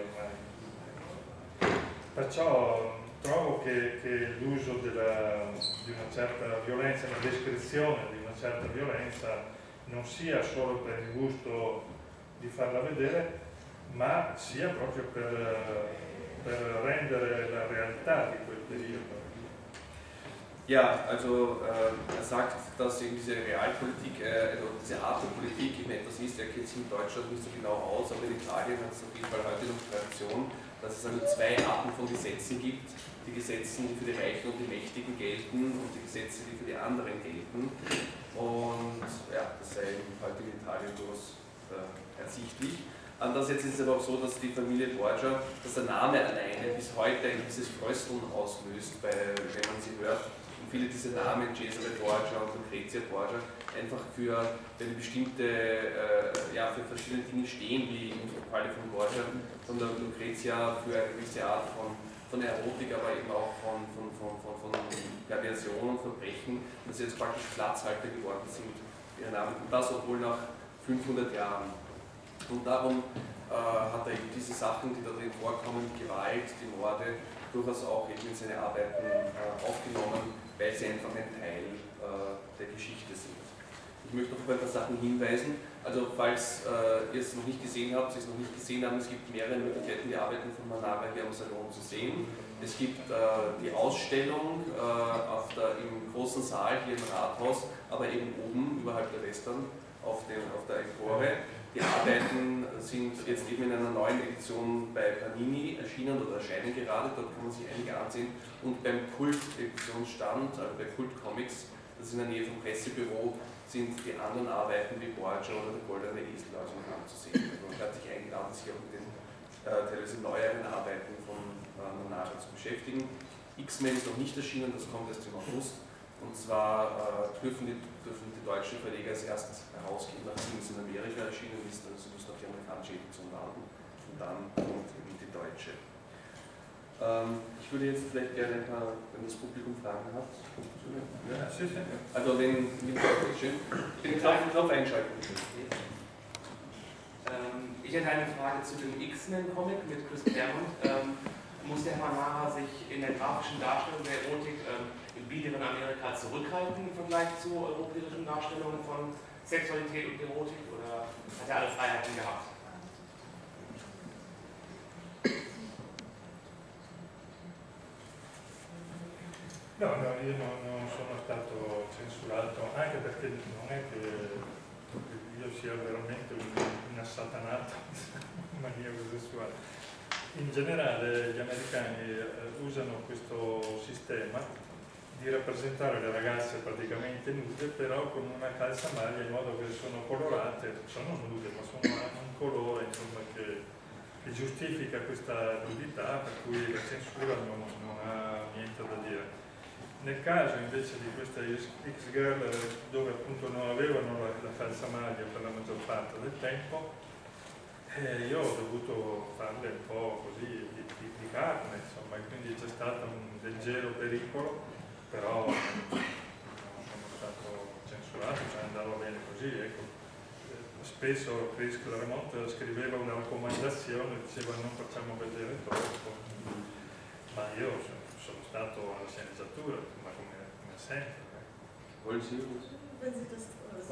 ormai. Perciò trovo che l'uso di una certa violenza, la descrizione di una certa violenza non sia solo per il gusto di farla vedere, ma sia proprio per rendere la realtà di quel periodo. Ja, also er sagt, dass eben diese Realpolitik, also diese Art der Politik eben etwas ist, er kennt sich in Deutschland nicht so genau aus, aber in Italien hat es auf jeden Fall heute noch Tradition, dass es also zwei Arten von Gesetzen gibt. Die Gesetze, die für die Reichen und die Mächtigen gelten und die Gesetze, die für die anderen gelten. Und ja, das sei heute in Italien durchaus ersichtlich. Andererseits ist es aber auch so, dass die Familie Borgia, dass der Name alleine bis heute ein gewisses Frösteln auslöst, wenn man sie hört. Und viele dieser Namen, Cesare Borgia und Lucrezia Borgia, einfach für eine bestimmte, für verschiedene Dinge stehen, wie im Falle von Borgia, von der Lucrezia für eine gewisse Art von Erotik, aber eben auch von Perversion und Verbrechen, dass sie jetzt praktisch Platzhalter geworden sind, ihre Namen. Und das obwohl nach 500 Jahren. Und darum hat er eben diese Sachen, die da drin vorkommen, Gewalt, die Morde, durchaus auch eben in seine Arbeiten aufgenommen, weil sie einfach ein Teil der Geschichte sind. Ich möchte noch auf ein paar Sachen hinweisen. Also falls ihr es noch nicht gesehen habt, Sie es noch nicht gesehen haben, es gibt mehrere Möglichkeiten, die Arbeiten von Manara hier am Salon zu sehen. Es gibt die Ausstellung im großen Saal hier im Rathaus, aber eben oben überhalb der Western auf der Empore. Die Arbeiten sind jetzt eben in einer neuen Edition bei Panini erschienen oder erscheinen gerade, dort kann man sich einige ansehen. Und beim Kult-Editionsstand, also bei Kult Comics, das ist in der Nähe vom Pressebüro, sind die anderen Arbeiten wie Borgia oder der Goldene Esel also noch anzusehen. Also man hat sich eingeladen, sich auch mit den teilweise neueren Arbeiten von Manara zu beschäftigen. X-Men ist noch nicht erschienen, das kommt erst im August. Und zwar dürfen die deutschen Verleger es erst herausgeben, nachdem es in Amerika erschienen ist, also müssen auf die amerikanische Edition warten. Und dann kommt eben die deutsche. Ich würde jetzt vielleicht gerne wenn das Publikum Fragen hat. Ja, sicher. Also wenn schön, den Knopf einschalten. Ich hätte eine Frage zu dem X-Men-Comic mit Chris Claremont. Muss der Manara sich in der grafischen Darstellung der Erotik im biederen Amerika zurückhalten im Vergleich zu europäischen Darstellungen von Sexualität und Erotik oder hat er alle Freiheiten gehabt? No, io non sono stato censurato, anche perché non è che io sia veramente un assatanato maniaco sessuale. In generale gli americani usano questo sistema di di rappresentare le ragazze praticamente nude, però con una calzamaglia in modo che sono colorate, sono nude, ma hanno un colore insomma, che giustifica questa nudità, per cui la censura non ha niente da dire. Nel caso invece di questa X-Girl, dove appunto non avevano la calzamaglia per la maggior parte del tempo, io ho dovuto farle un po' così di carne, insomma, e quindi c'è stato un leggero pericolo, però non sono stato censurato, cioè andava bene così, ecco. Spesso Chris Claremont scriveva una raccomandazione, diceva non facciamo vedere troppo, ma io sono stato alla sceneggiatura, ma come sempre. Wollen Sie? Wenn Sie das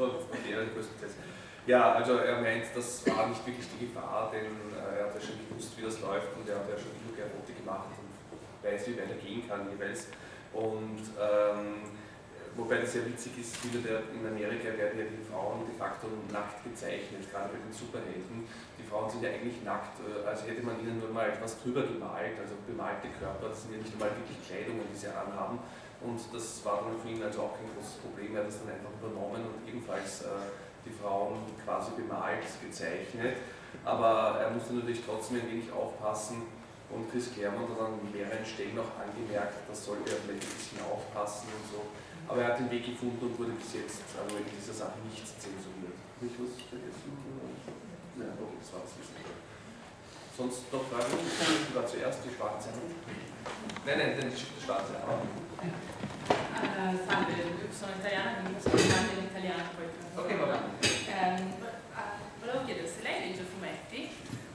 Ja, also er meint, das war nicht wirklich die Gefahr, denn er hat ja schon gewusst, wie das läuft und er hat ja schon genug Erotik gemacht und weiß, wie weit er gehen kann jeweils. Und wobei das sehr witzig ist, in Amerika werden ja die Frauen de facto nackt gezeichnet, gerade bei den Superhelden. Die Frauen sind ja eigentlich nackt, als hätte man ihnen nur mal etwas drüber gemalt, also bemalte Körper, das sind ja nicht einmal wirklich Kleidungen, die sie anhaben. Und das war dann für ihn also auch kein großes Problem, er hat das dann einfach übernommen und ebenfalls die Frauen quasi bemalt, gezeichnet. Aber er musste natürlich trotzdem ein wenig aufpassen und Chris Claremont hat an mehreren Stellen auch angemerkt, das sollte er vielleicht ein bisschen aufpassen und so. Aber er hat den Weg gefunden und wurde bis jetzt also in dieser Sache nicht zensuriert. Habe ich was vergessen? Ja, okay, das war es. Sonst noch Fragen? Die war zuerst die schwarze Hand. Nein, die schwarze Hand. Salve, io sono italiana, quindi posso parlare in italiano poi. Ok, va bene. Volevo chiedere se lei legge fumetti,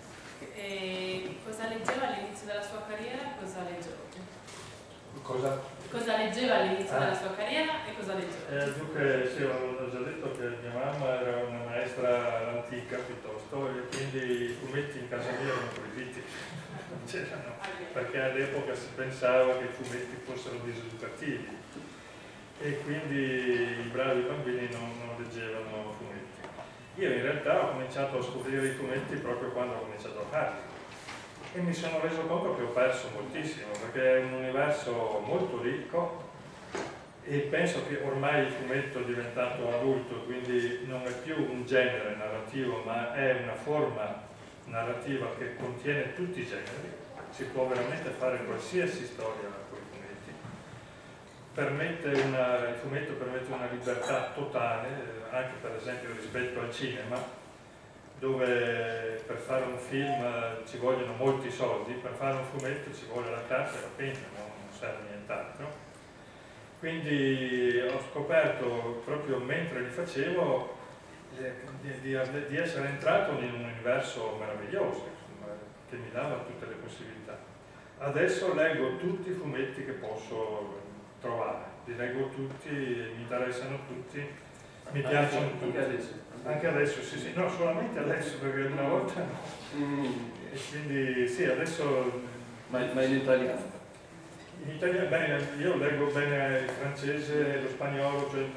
cosa leggeva all'inizio della sua carriera e cosa legge oggi? Cosa leggeva all'inizio della sua carriera e cosa legge oggi? Dunque, sì, ho già detto che mia mamma era una maestra antica piuttosto e quindi i fumetti in casa mia erano proibiti, non c'erano, perché all'epoca si pensava che i fumetti fossero diseducativi e quindi i bravi bambini non leggevano fumetti. Io in realtà ho cominciato a scoprire i fumetti proprio quando ho cominciato a farli e mi sono reso conto che ho perso moltissimo, perché è un universo molto ricco e penso che ormai il fumetto è diventato adulto, quindi non è più un genere narrativo, ma è una forma narrativa che contiene tutti i generi. Si può veramente fare qualsiasi storia con i fumetti. Il fumetto permette una libertà totale, anche per esempio rispetto al cinema, dove per fare un film ci vogliono molti soldi, per fare un fumetto ci vuole la carta e la penna, non serve nient'altro. Quindi ho scoperto proprio mentre li facevo di essere entrato in un universo meraviglioso, insomma, che mi dava tutte le possibilità. Adesso leggo tutti i fumetti che posso trovare, li leggo tutti, mi interessano tutti, mi piacciono tutti. Anche adesso, sì, no, solamente adesso, perché una volta no. E quindi sì, adesso... Ma in italiano? In italiano, bene, io leggo bene il francese e lo spagnolo, cioè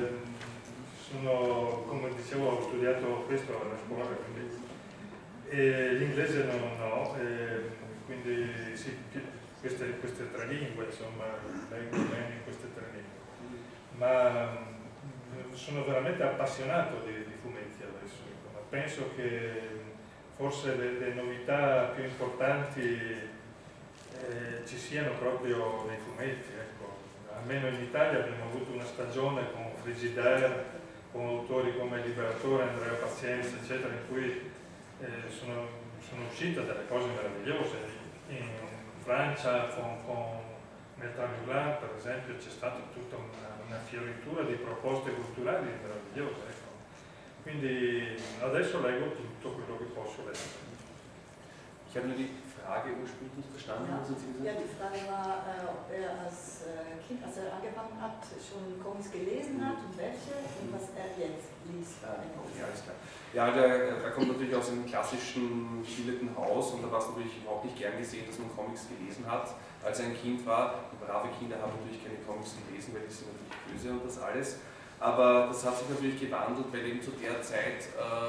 sono, come dicevo, ho studiato questo alla scuola, quindi l'inglese no, quindi sì, queste tre lingue, insomma, leggo bene in queste tre lingue. Ma sono veramente appassionato di fumetti adesso, ma penso che forse le novità più importanti ci siano proprio nei fumetti, ecco. Almeno in Italia abbiamo avuto una stagione con Frigidaire, con autori come Liberatore, Andrea Pazienza, eccetera, in cui sono uscite delle cose meravigliose. In Francia con Bertrand Rullard, per esempio, c'è stata tutta una fioritura di proposte culturali meravigliose, ecco. Quindi adesso leggo tutto quello che posso leggere. Ich habe nur die Frage ursprünglich nicht verstanden. Ja, die Frage war, ob er als Kind, als er angefangen hat, schon Comics gelesen hat und welche und was er jetzt liest. Ja, alles klar. Ja, er kommt natürlich aus einem klassischen, gebildeten Haus und da war es natürlich überhaupt nicht gern gesehen, dass man Comics gelesen hat, als er ein Kind war. Brave Kinder haben natürlich keine Comics gelesen, weil die sind natürlich böse und das alles. Aber das hat sich natürlich gewandelt, weil eben zu der Zeit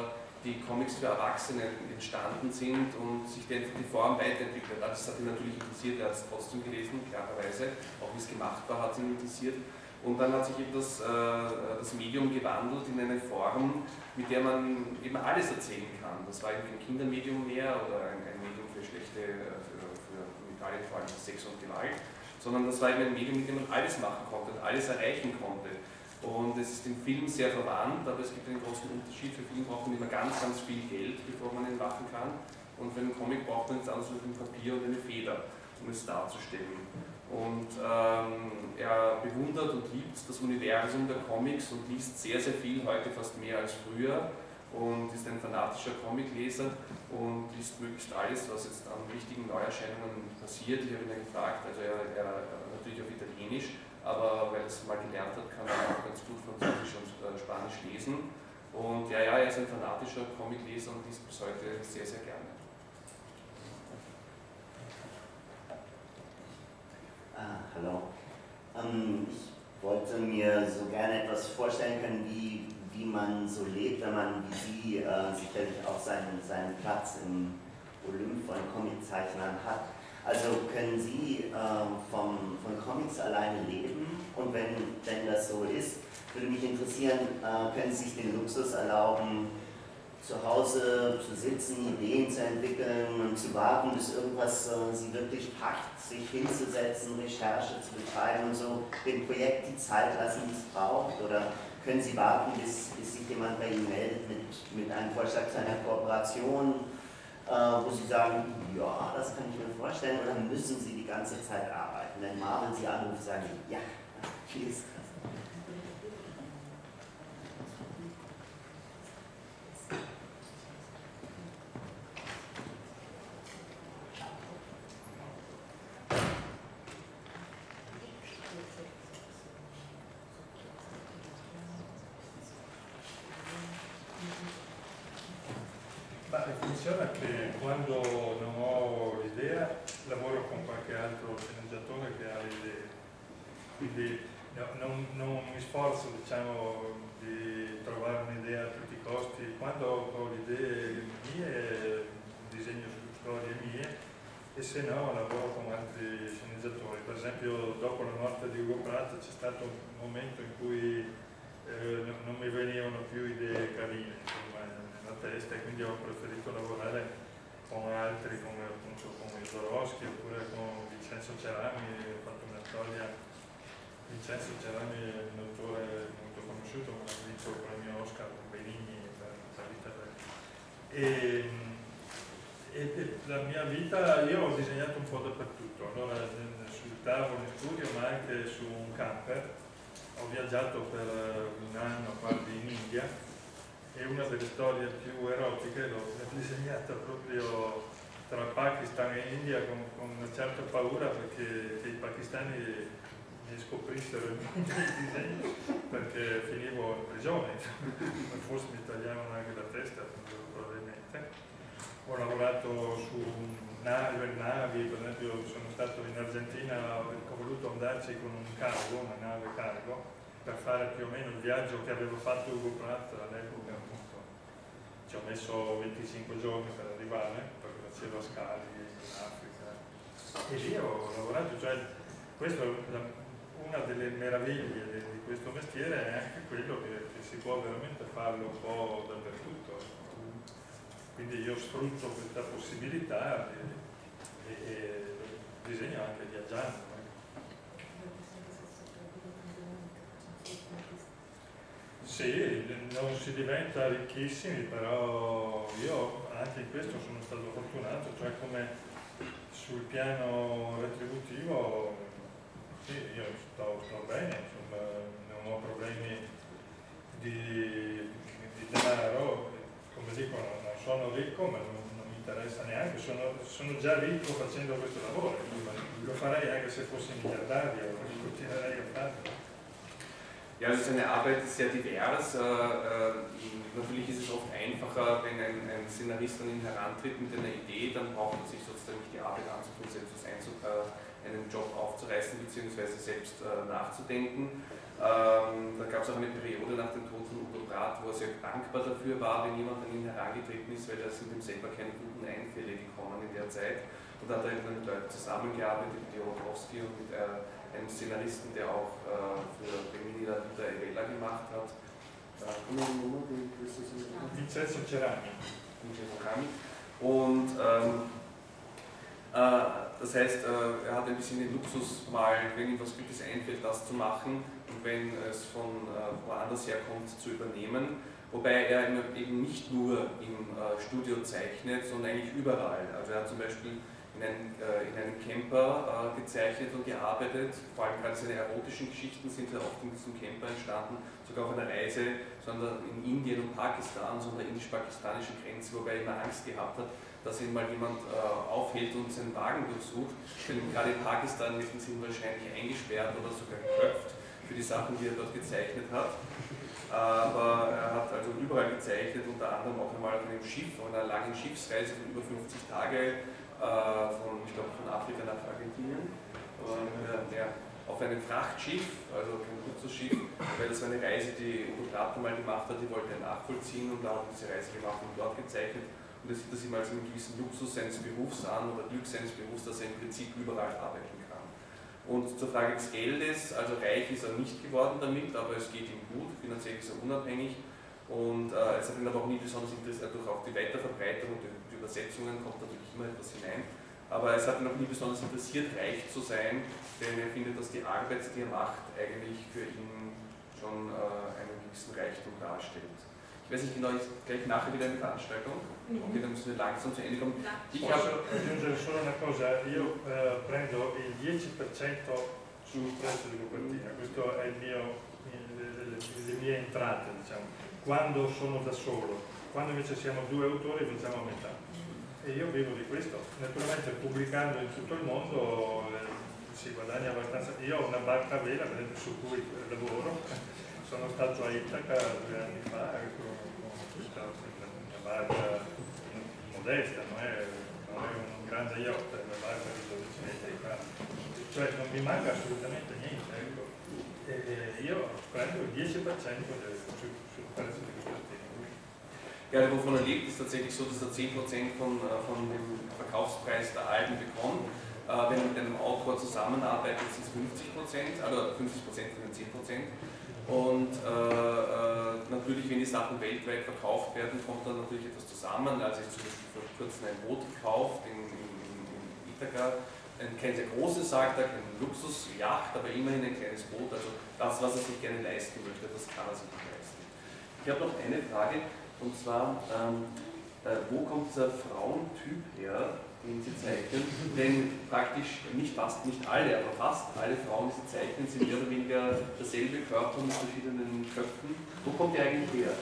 die Comics für Erwachsene entstanden sind und sich die Form weiterentwickelt hat. Das hat ihn natürlich interessiert, er hat es trotzdem gelesen, klarerweise, auch wie es gemacht war, hat ihn interessiert. Und dann hat sich eben das Medium gewandelt in eine Form, mit der man eben alles erzählen kann. Das war eben kein Kindermedium mehr oder ein Medium für schlechte, für Italien vor allem Sex und Gewalt, sondern das war eben ein Medium, mit dem man alles machen konnte und alles erreichen konnte. Und es ist im Film sehr verwandt, aber es gibt einen großen Unterschied. Für Film braucht man immer ganz, ganz viel Geld, bevor man ihn machen kann. Und für einen Comic braucht man nichts anderes als ein Papier und eine Feder, um es darzustellen. Und er bewundert und liebt das Universum der Comics und liest sehr, sehr viel, heute fast mehr als früher. Und ist ein fanatischer Comicleser und liest möglichst alles, was jetzt an wichtigen Neuerscheinungen passiert. Ich habe ihn gefragt, also er natürlich auf Italienisch, aber weil er es mal gelernt hat, kann er auch ganz gut Französisch und Spanisch lesen. Und ja, er ist ein fanatischer Comicleser und liest bis heute sehr, sehr gerne. Hallo. Ich wollte mir so gerne etwas vorstellen können, wie man so lebt, wenn man wie Sie sicherlich auch seinen Platz im Olymp von Comiczeichnern hat. Also können Sie von Comics alleine leben? Und wenn das so ist, würde mich interessieren, können Sie sich den Luxus erlauben, zu Hause zu sitzen, Ideen zu entwickeln und zu warten, bis irgendwas Sie wirklich packt, sich hinzusetzen, Recherche zu betreiben und so dem Projekt die Zeit lassen, die es braucht? Oder können Sie warten, bis sich jemand bei Ihnen meldet mit einem Vorschlag zu einer Kooperation, wo Sie sagen, ja, das kann ich mir vorstellen, oder müssen Sie die ganze Zeit arbeiten? Wenn Marvel Sie anruft, sagen Sie, ja, hier ist das. Funziona che quando non ho l'idea lavoro con qualche altro sceneggiatore che ha le idee, quindi non mi sforzo, diciamo, di trovare un'idea a tutti i costi. Quando ho le idee mie disegno su storie mie e se no lavoro con altri sceneggiatori. Per esempio dopo la morte di Ugo Pratt c'è stato un momento in cui non mi venivano più idee carine, insomma, nella testa, e quindi ho preferito lavorare con altri, come appunto con Jodorowsky oppure con Vincenzo Cerami. Ho fatto una storia. Vincenzo Cerami è un autore molto conosciuto, ma ha vinto il premio Oscar con Benigni per la vita e la mia vita, io ho disegnato un po' dappertutto, allora sul tavolo in studio ma anche su un camper. Ho viaggiato per un anno quasi in India e una delle storie più erotiche l'ho disegnata proprio tra Pakistan e India con una certa paura perché i pakistani mi scoprissero il mio disegno perché finivo in prigione, forse mi tagliavano anche la testa probabilmente. Ho lavorato su navi, per esempio sono stato in Argentina, ho voluto andarci con un cargo, una nave cargo, per fare più o meno il viaggio che avevo fatto Ugo Pratt all'epoca, appunto. Ci ho messo 25 giorni per arrivare, perché facevo scali in Africa. E lì ho lavorato, cioè questa è una delle meraviglie di questo mestiere, è anche quello che si può veramente farlo un po' dappertutto. Quindi io sfrutto questa possibilità e disegno anche viaggiando. Sì, non si diventa ricchissimi, però io anche in questo sono stato fortunato, cioè come sul piano retributivo, sì, io sto bene, insomma, non ho problemi di denaro, come dicono, non sono ricco ma non mi interessa neanche, sono già ricco facendo questo lavoro, lo farei anche se fossi miliardario, continuerei a farlo. Ja, also seine Arbeit ist sehr divers. Natürlich ist es oft einfacher, wenn ein Szenarist an ihn herantritt mit einer Idee, dann braucht er sich sozusagen nicht die Arbeit anzutun, selbst einen Job aufzureißen bzw. selbst nachzudenken. Da gab es auch eine Periode nach dem Tod von Udo Brath, wo er sehr dankbar dafür war, wenn jemand an ihn herangetreten ist, weil da sind ihm selber keine guten Einfälle gekommen in der Zeit. Und da hat er mit Leuten zusammengearbeitet, mit Jodorowsky und mit einem Szenaristen, der auch für Bemini la Vita e Bella gemacht hat. Vincenzo Cerami. Und das heißt, er hat ein bisschen den Luxus, mal, wenn ihm was Gutes einfällt, das zu machen und wenn es von woanders herkommt, zu übernehmen. Wobei er eben nicht nur im Studio zeichnet, sondern eigentlich überall. Also er hat zum Beispiel in einem Camper gezeichnet und gearbeitet. Vor allem gerade seine erotischen Geschichten sind ja oft in diesem Camper entstanden, sogar auf einer Reise, sondern in Indien und Pakistan, so an der indisch-pakistanischen Grenze, wobei er immer Angst gehabt hat, dass ihn mal jemand aufhält und seinen Wagen durchsucht. Denn gerade in Pakistan hätten sie ihn wahrscheinlich eingesperrt oder sogar geköpft für die Sachen, die er dort gezeichnet hat. Aber er hat also überall gezeichnet, unter anderem auch einmal auf einem Schiff, auf einer langen Schiffsreise von über 50 Tage, ich glaube von Afrika nach Argentinien, auf einem Frachtschiff, also kein Luxusschiff, weil das war eine Reise, die Udo Brath mal gemacht hat, die wollte er nachvollziehen und da hat er diese Reise gemacht und dort gezeichnet. Und das sieht das ihm als einen gewissen Luxus seines Berufs an oder Glück seines Berufs, dass er im Prinzip überall arbeiten kann. Und zur Frage des Geldes, also reich ist er nicht geworden damit, aber es geht ihm gut, finanziell ist er unabhängig. Und es hat ihn aber auch nie besonders interessiert, durch auch die Weiterverbreitung und die Übersetzungen kommt natürlich immer etwas hinein. Aber es hat ihn auch nie besonders interessiert, reich zu sein, denn er findet, dass die Arbeit, die er macht, eigentlich für ihn schon einen gewissen Reichtum darstellt. Ich weiß nicht genau, gleich nachher wieder eine Veranstaltung. Okay, dann müssen wir langsam zu Ende kommen. Posso aggiungere solo una cosa, io prendo il 10% sul prezzo di copertina, questo è le mie entrate, diciamo, quando sono da solo, quando invece siamo due autori facciamo a metà. E io vivo di questo, naturalmente pubblicando in tutto il mondo si guadagna abbastanza. Io ho una barca a vela, per esempio, su cui lavoro, sono stato a Itaca 2 anni fa, una barca modesta, non è un grande yacht, è una barca di 12 metri, cioè non mi manca assolutamente niente, ecco. E io prendo il 10% sul prezzo di copertina. Ja, wovon er lebt, ist tatsächlich so, dass er 10% von dem Verkaufspreis der Alben bekommt. Wenn er mit einem Autor zusammenarbeitet, sind es 50%, also 50% von den 10%. Und natürlich, wenn die Sachen weltweit verkauft werden, kommt dann natürlich etwas zusammen. Also ich habe zum Beispiel vor kurzem ein Boot gekauft in Ithaka. Kein sehr großes, sagt er, kein Luxusjacht, aber immerhin ein kleines Boot. Also das, was er sich gerne leisten möchte, das kann er sich nicht leisten. Ich habe noch eine Frage. Und zwar, wo kommt dieser Frauentyp her, den Sie zeichnen? Denn praktisch nicht alle, aber fast alle Frauen, die Sie zeichnen, sind mehr oder weniger derselbe Körper mit verschiedenen Köpfen. Wo kommt der eigentlich her?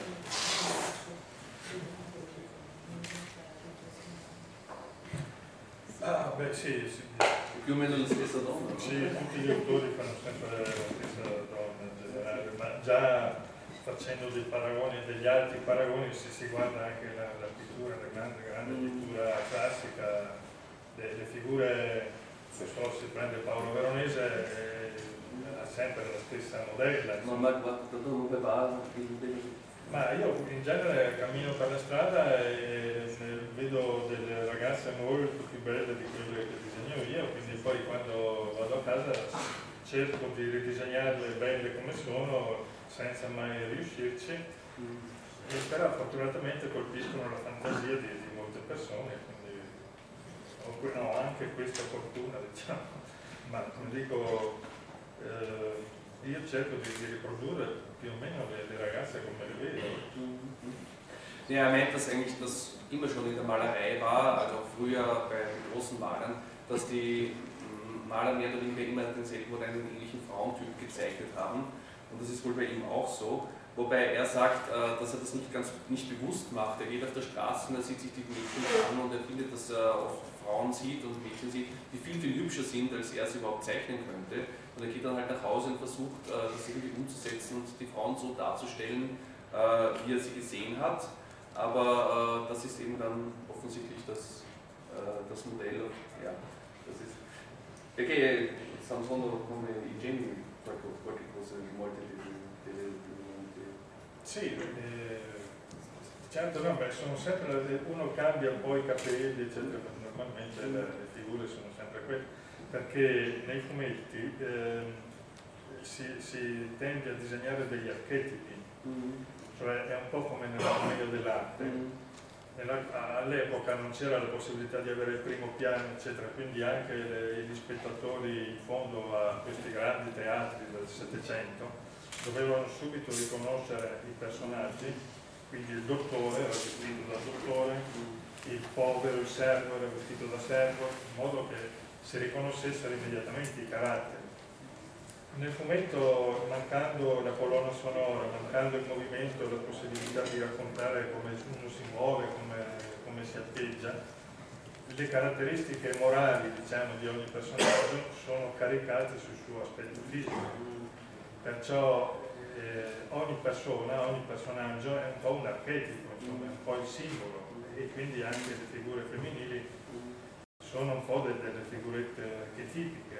Beh sì, Più o meno la stessa donna? Sì, tutti gli autori fanno sempre la stessa donna in generale, ma già facendo dei paragoni, degli altri paragoni, si guarda anche la pittura, la grande pittura classica, le figure, non so, si prende Paolo Veronese, ha sempre la stessa modella. Ma dove va? Ma io in genere cammino per la strada e vedo delle ragazze molto più belle di quelle che disegno io, quindi poi quando vado a casa cerco di ridisegnarle belle come sono senza mai riuscirci, e però fortunatamente colpiscono la fantasia di molte persone, quindi ho anche questa fortuna, diciamo, ma non dico, io cerco di riprodurre più o meno le ragazze come le vedo. Ja, er meint, dass eigentlich das immer schon in der Malerei war, also auch früher bei den großen Malern, dass die Maler mehr oder weniger immer denselben oder einen ähnlichen Frauentyp gezeichnet haben. Und das ist wohl bei ihm auch so. Wobei er sagt, dass er das nicht bewusst macht. Er geht auf der Straße und er sieht sich die Mädchen an und er findet, dass er oft Frauen sieht und Mädchen sieht, die viel, viel hübscher sind, als er sie überhaupt zeichnen könnte. Und er geht dann halt nach Hause und versucht, das irgendwie umzusetzen und die Frauen so darzustellen, wie er sie gesehen hat. Aber das ist eben dann offensichtlich das Modell. Ja, das ist. Perché Samson come i geni qualche cosa molte Sì, certo, no, beh, sono sempre, uno cambia poi i capelli, eccetera, normalmente le figure sono sempre quelle, perché nei fumetti si tende a disegnare degli archetipi, cioè è un po' come nella commedia dell'arte. All'epoca non c'era la possibilità di avere il primo piano, eccetera, quindi anche gli spettatori in fondo a questi grandi teatri del Settecento dovevano subito riconoscere i personaggi, quindi il dottore era vestito da dottore, il povero, il servo era vestito da servo, in modo che si riconoscessero immediatamente i caratteri. Nel fumetto, mancando la colonna sonora, mancando il movimento, la possibilità di raccontare come uno si muove, come si atteggia, le caratteristiche morali, diciamo, di ogni personaggio sono caricate sul suo aspetto fisico. Perciò ogni persona, ogni personaggio è un po' un archetipo, insomma, è un po' il simbolo, e quindi anche le figure femminili sono un po' delle figurette archetipiche.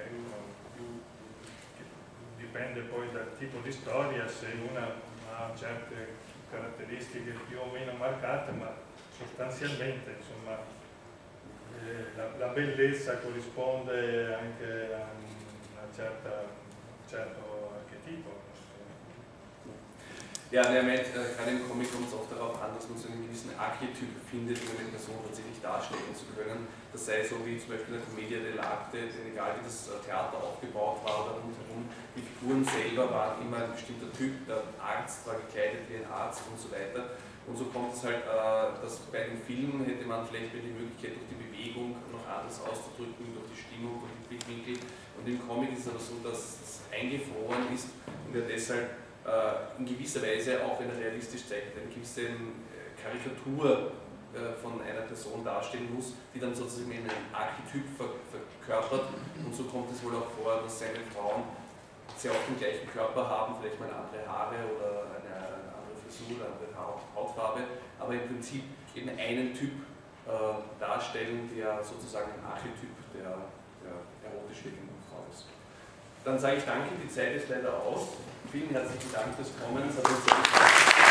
Dipende poi dal tipo di storia, se una ha certe caratteristiche più o meno marcate, ma sostanzialmente, insomma, la bellezza corrisponde anche a un certo archetipo. Ja, er meint, gerade im Comic kommt es auch darauf an, dass man so einen gewissen Archetyp findet, um eine Person tatsächlich darstellen zu können. Das sei so wie zum Beispiel in der Commedia dell'arte, egal wie das Theater aufgebaut war oder rundherum, die Figuren selber waren immer ein bestimmter Typ, der Arzt war gekleidet wie ein Arzt und so weiter. Und so kommt es halt, dass bei den Filmen hätte man vielleicht die Möglichkeit, durch die Bewegung noch anders auszudrücken, durch die Stimmung, durch die Blickwinkel. Und im Comic ist es aber so, dass es eingefroren ist und er deshalb in gewisser Weise, auch wenn er realistisch zeigt, eine gewisse Karikatur von einer Person darstellen muss, die dann sozusagen einen Archetyp verkörpert. Und so kommt es wohl auch vor, dass seine Frauen sehr oft den gleichen Körper haben, vielleicht mal andere Haare oder eine andere Frisur, eine andere Hautfarbe, aber im Prinzip eben einen Typ darstellen, der sozusagen ein Archetyp der erotisch wirkenden Frau ist. Dann sage ich danke, die Zeit ist leider aus. Vielen herzlichen Dank fürs Kommen, es hat uns sehr gefallen.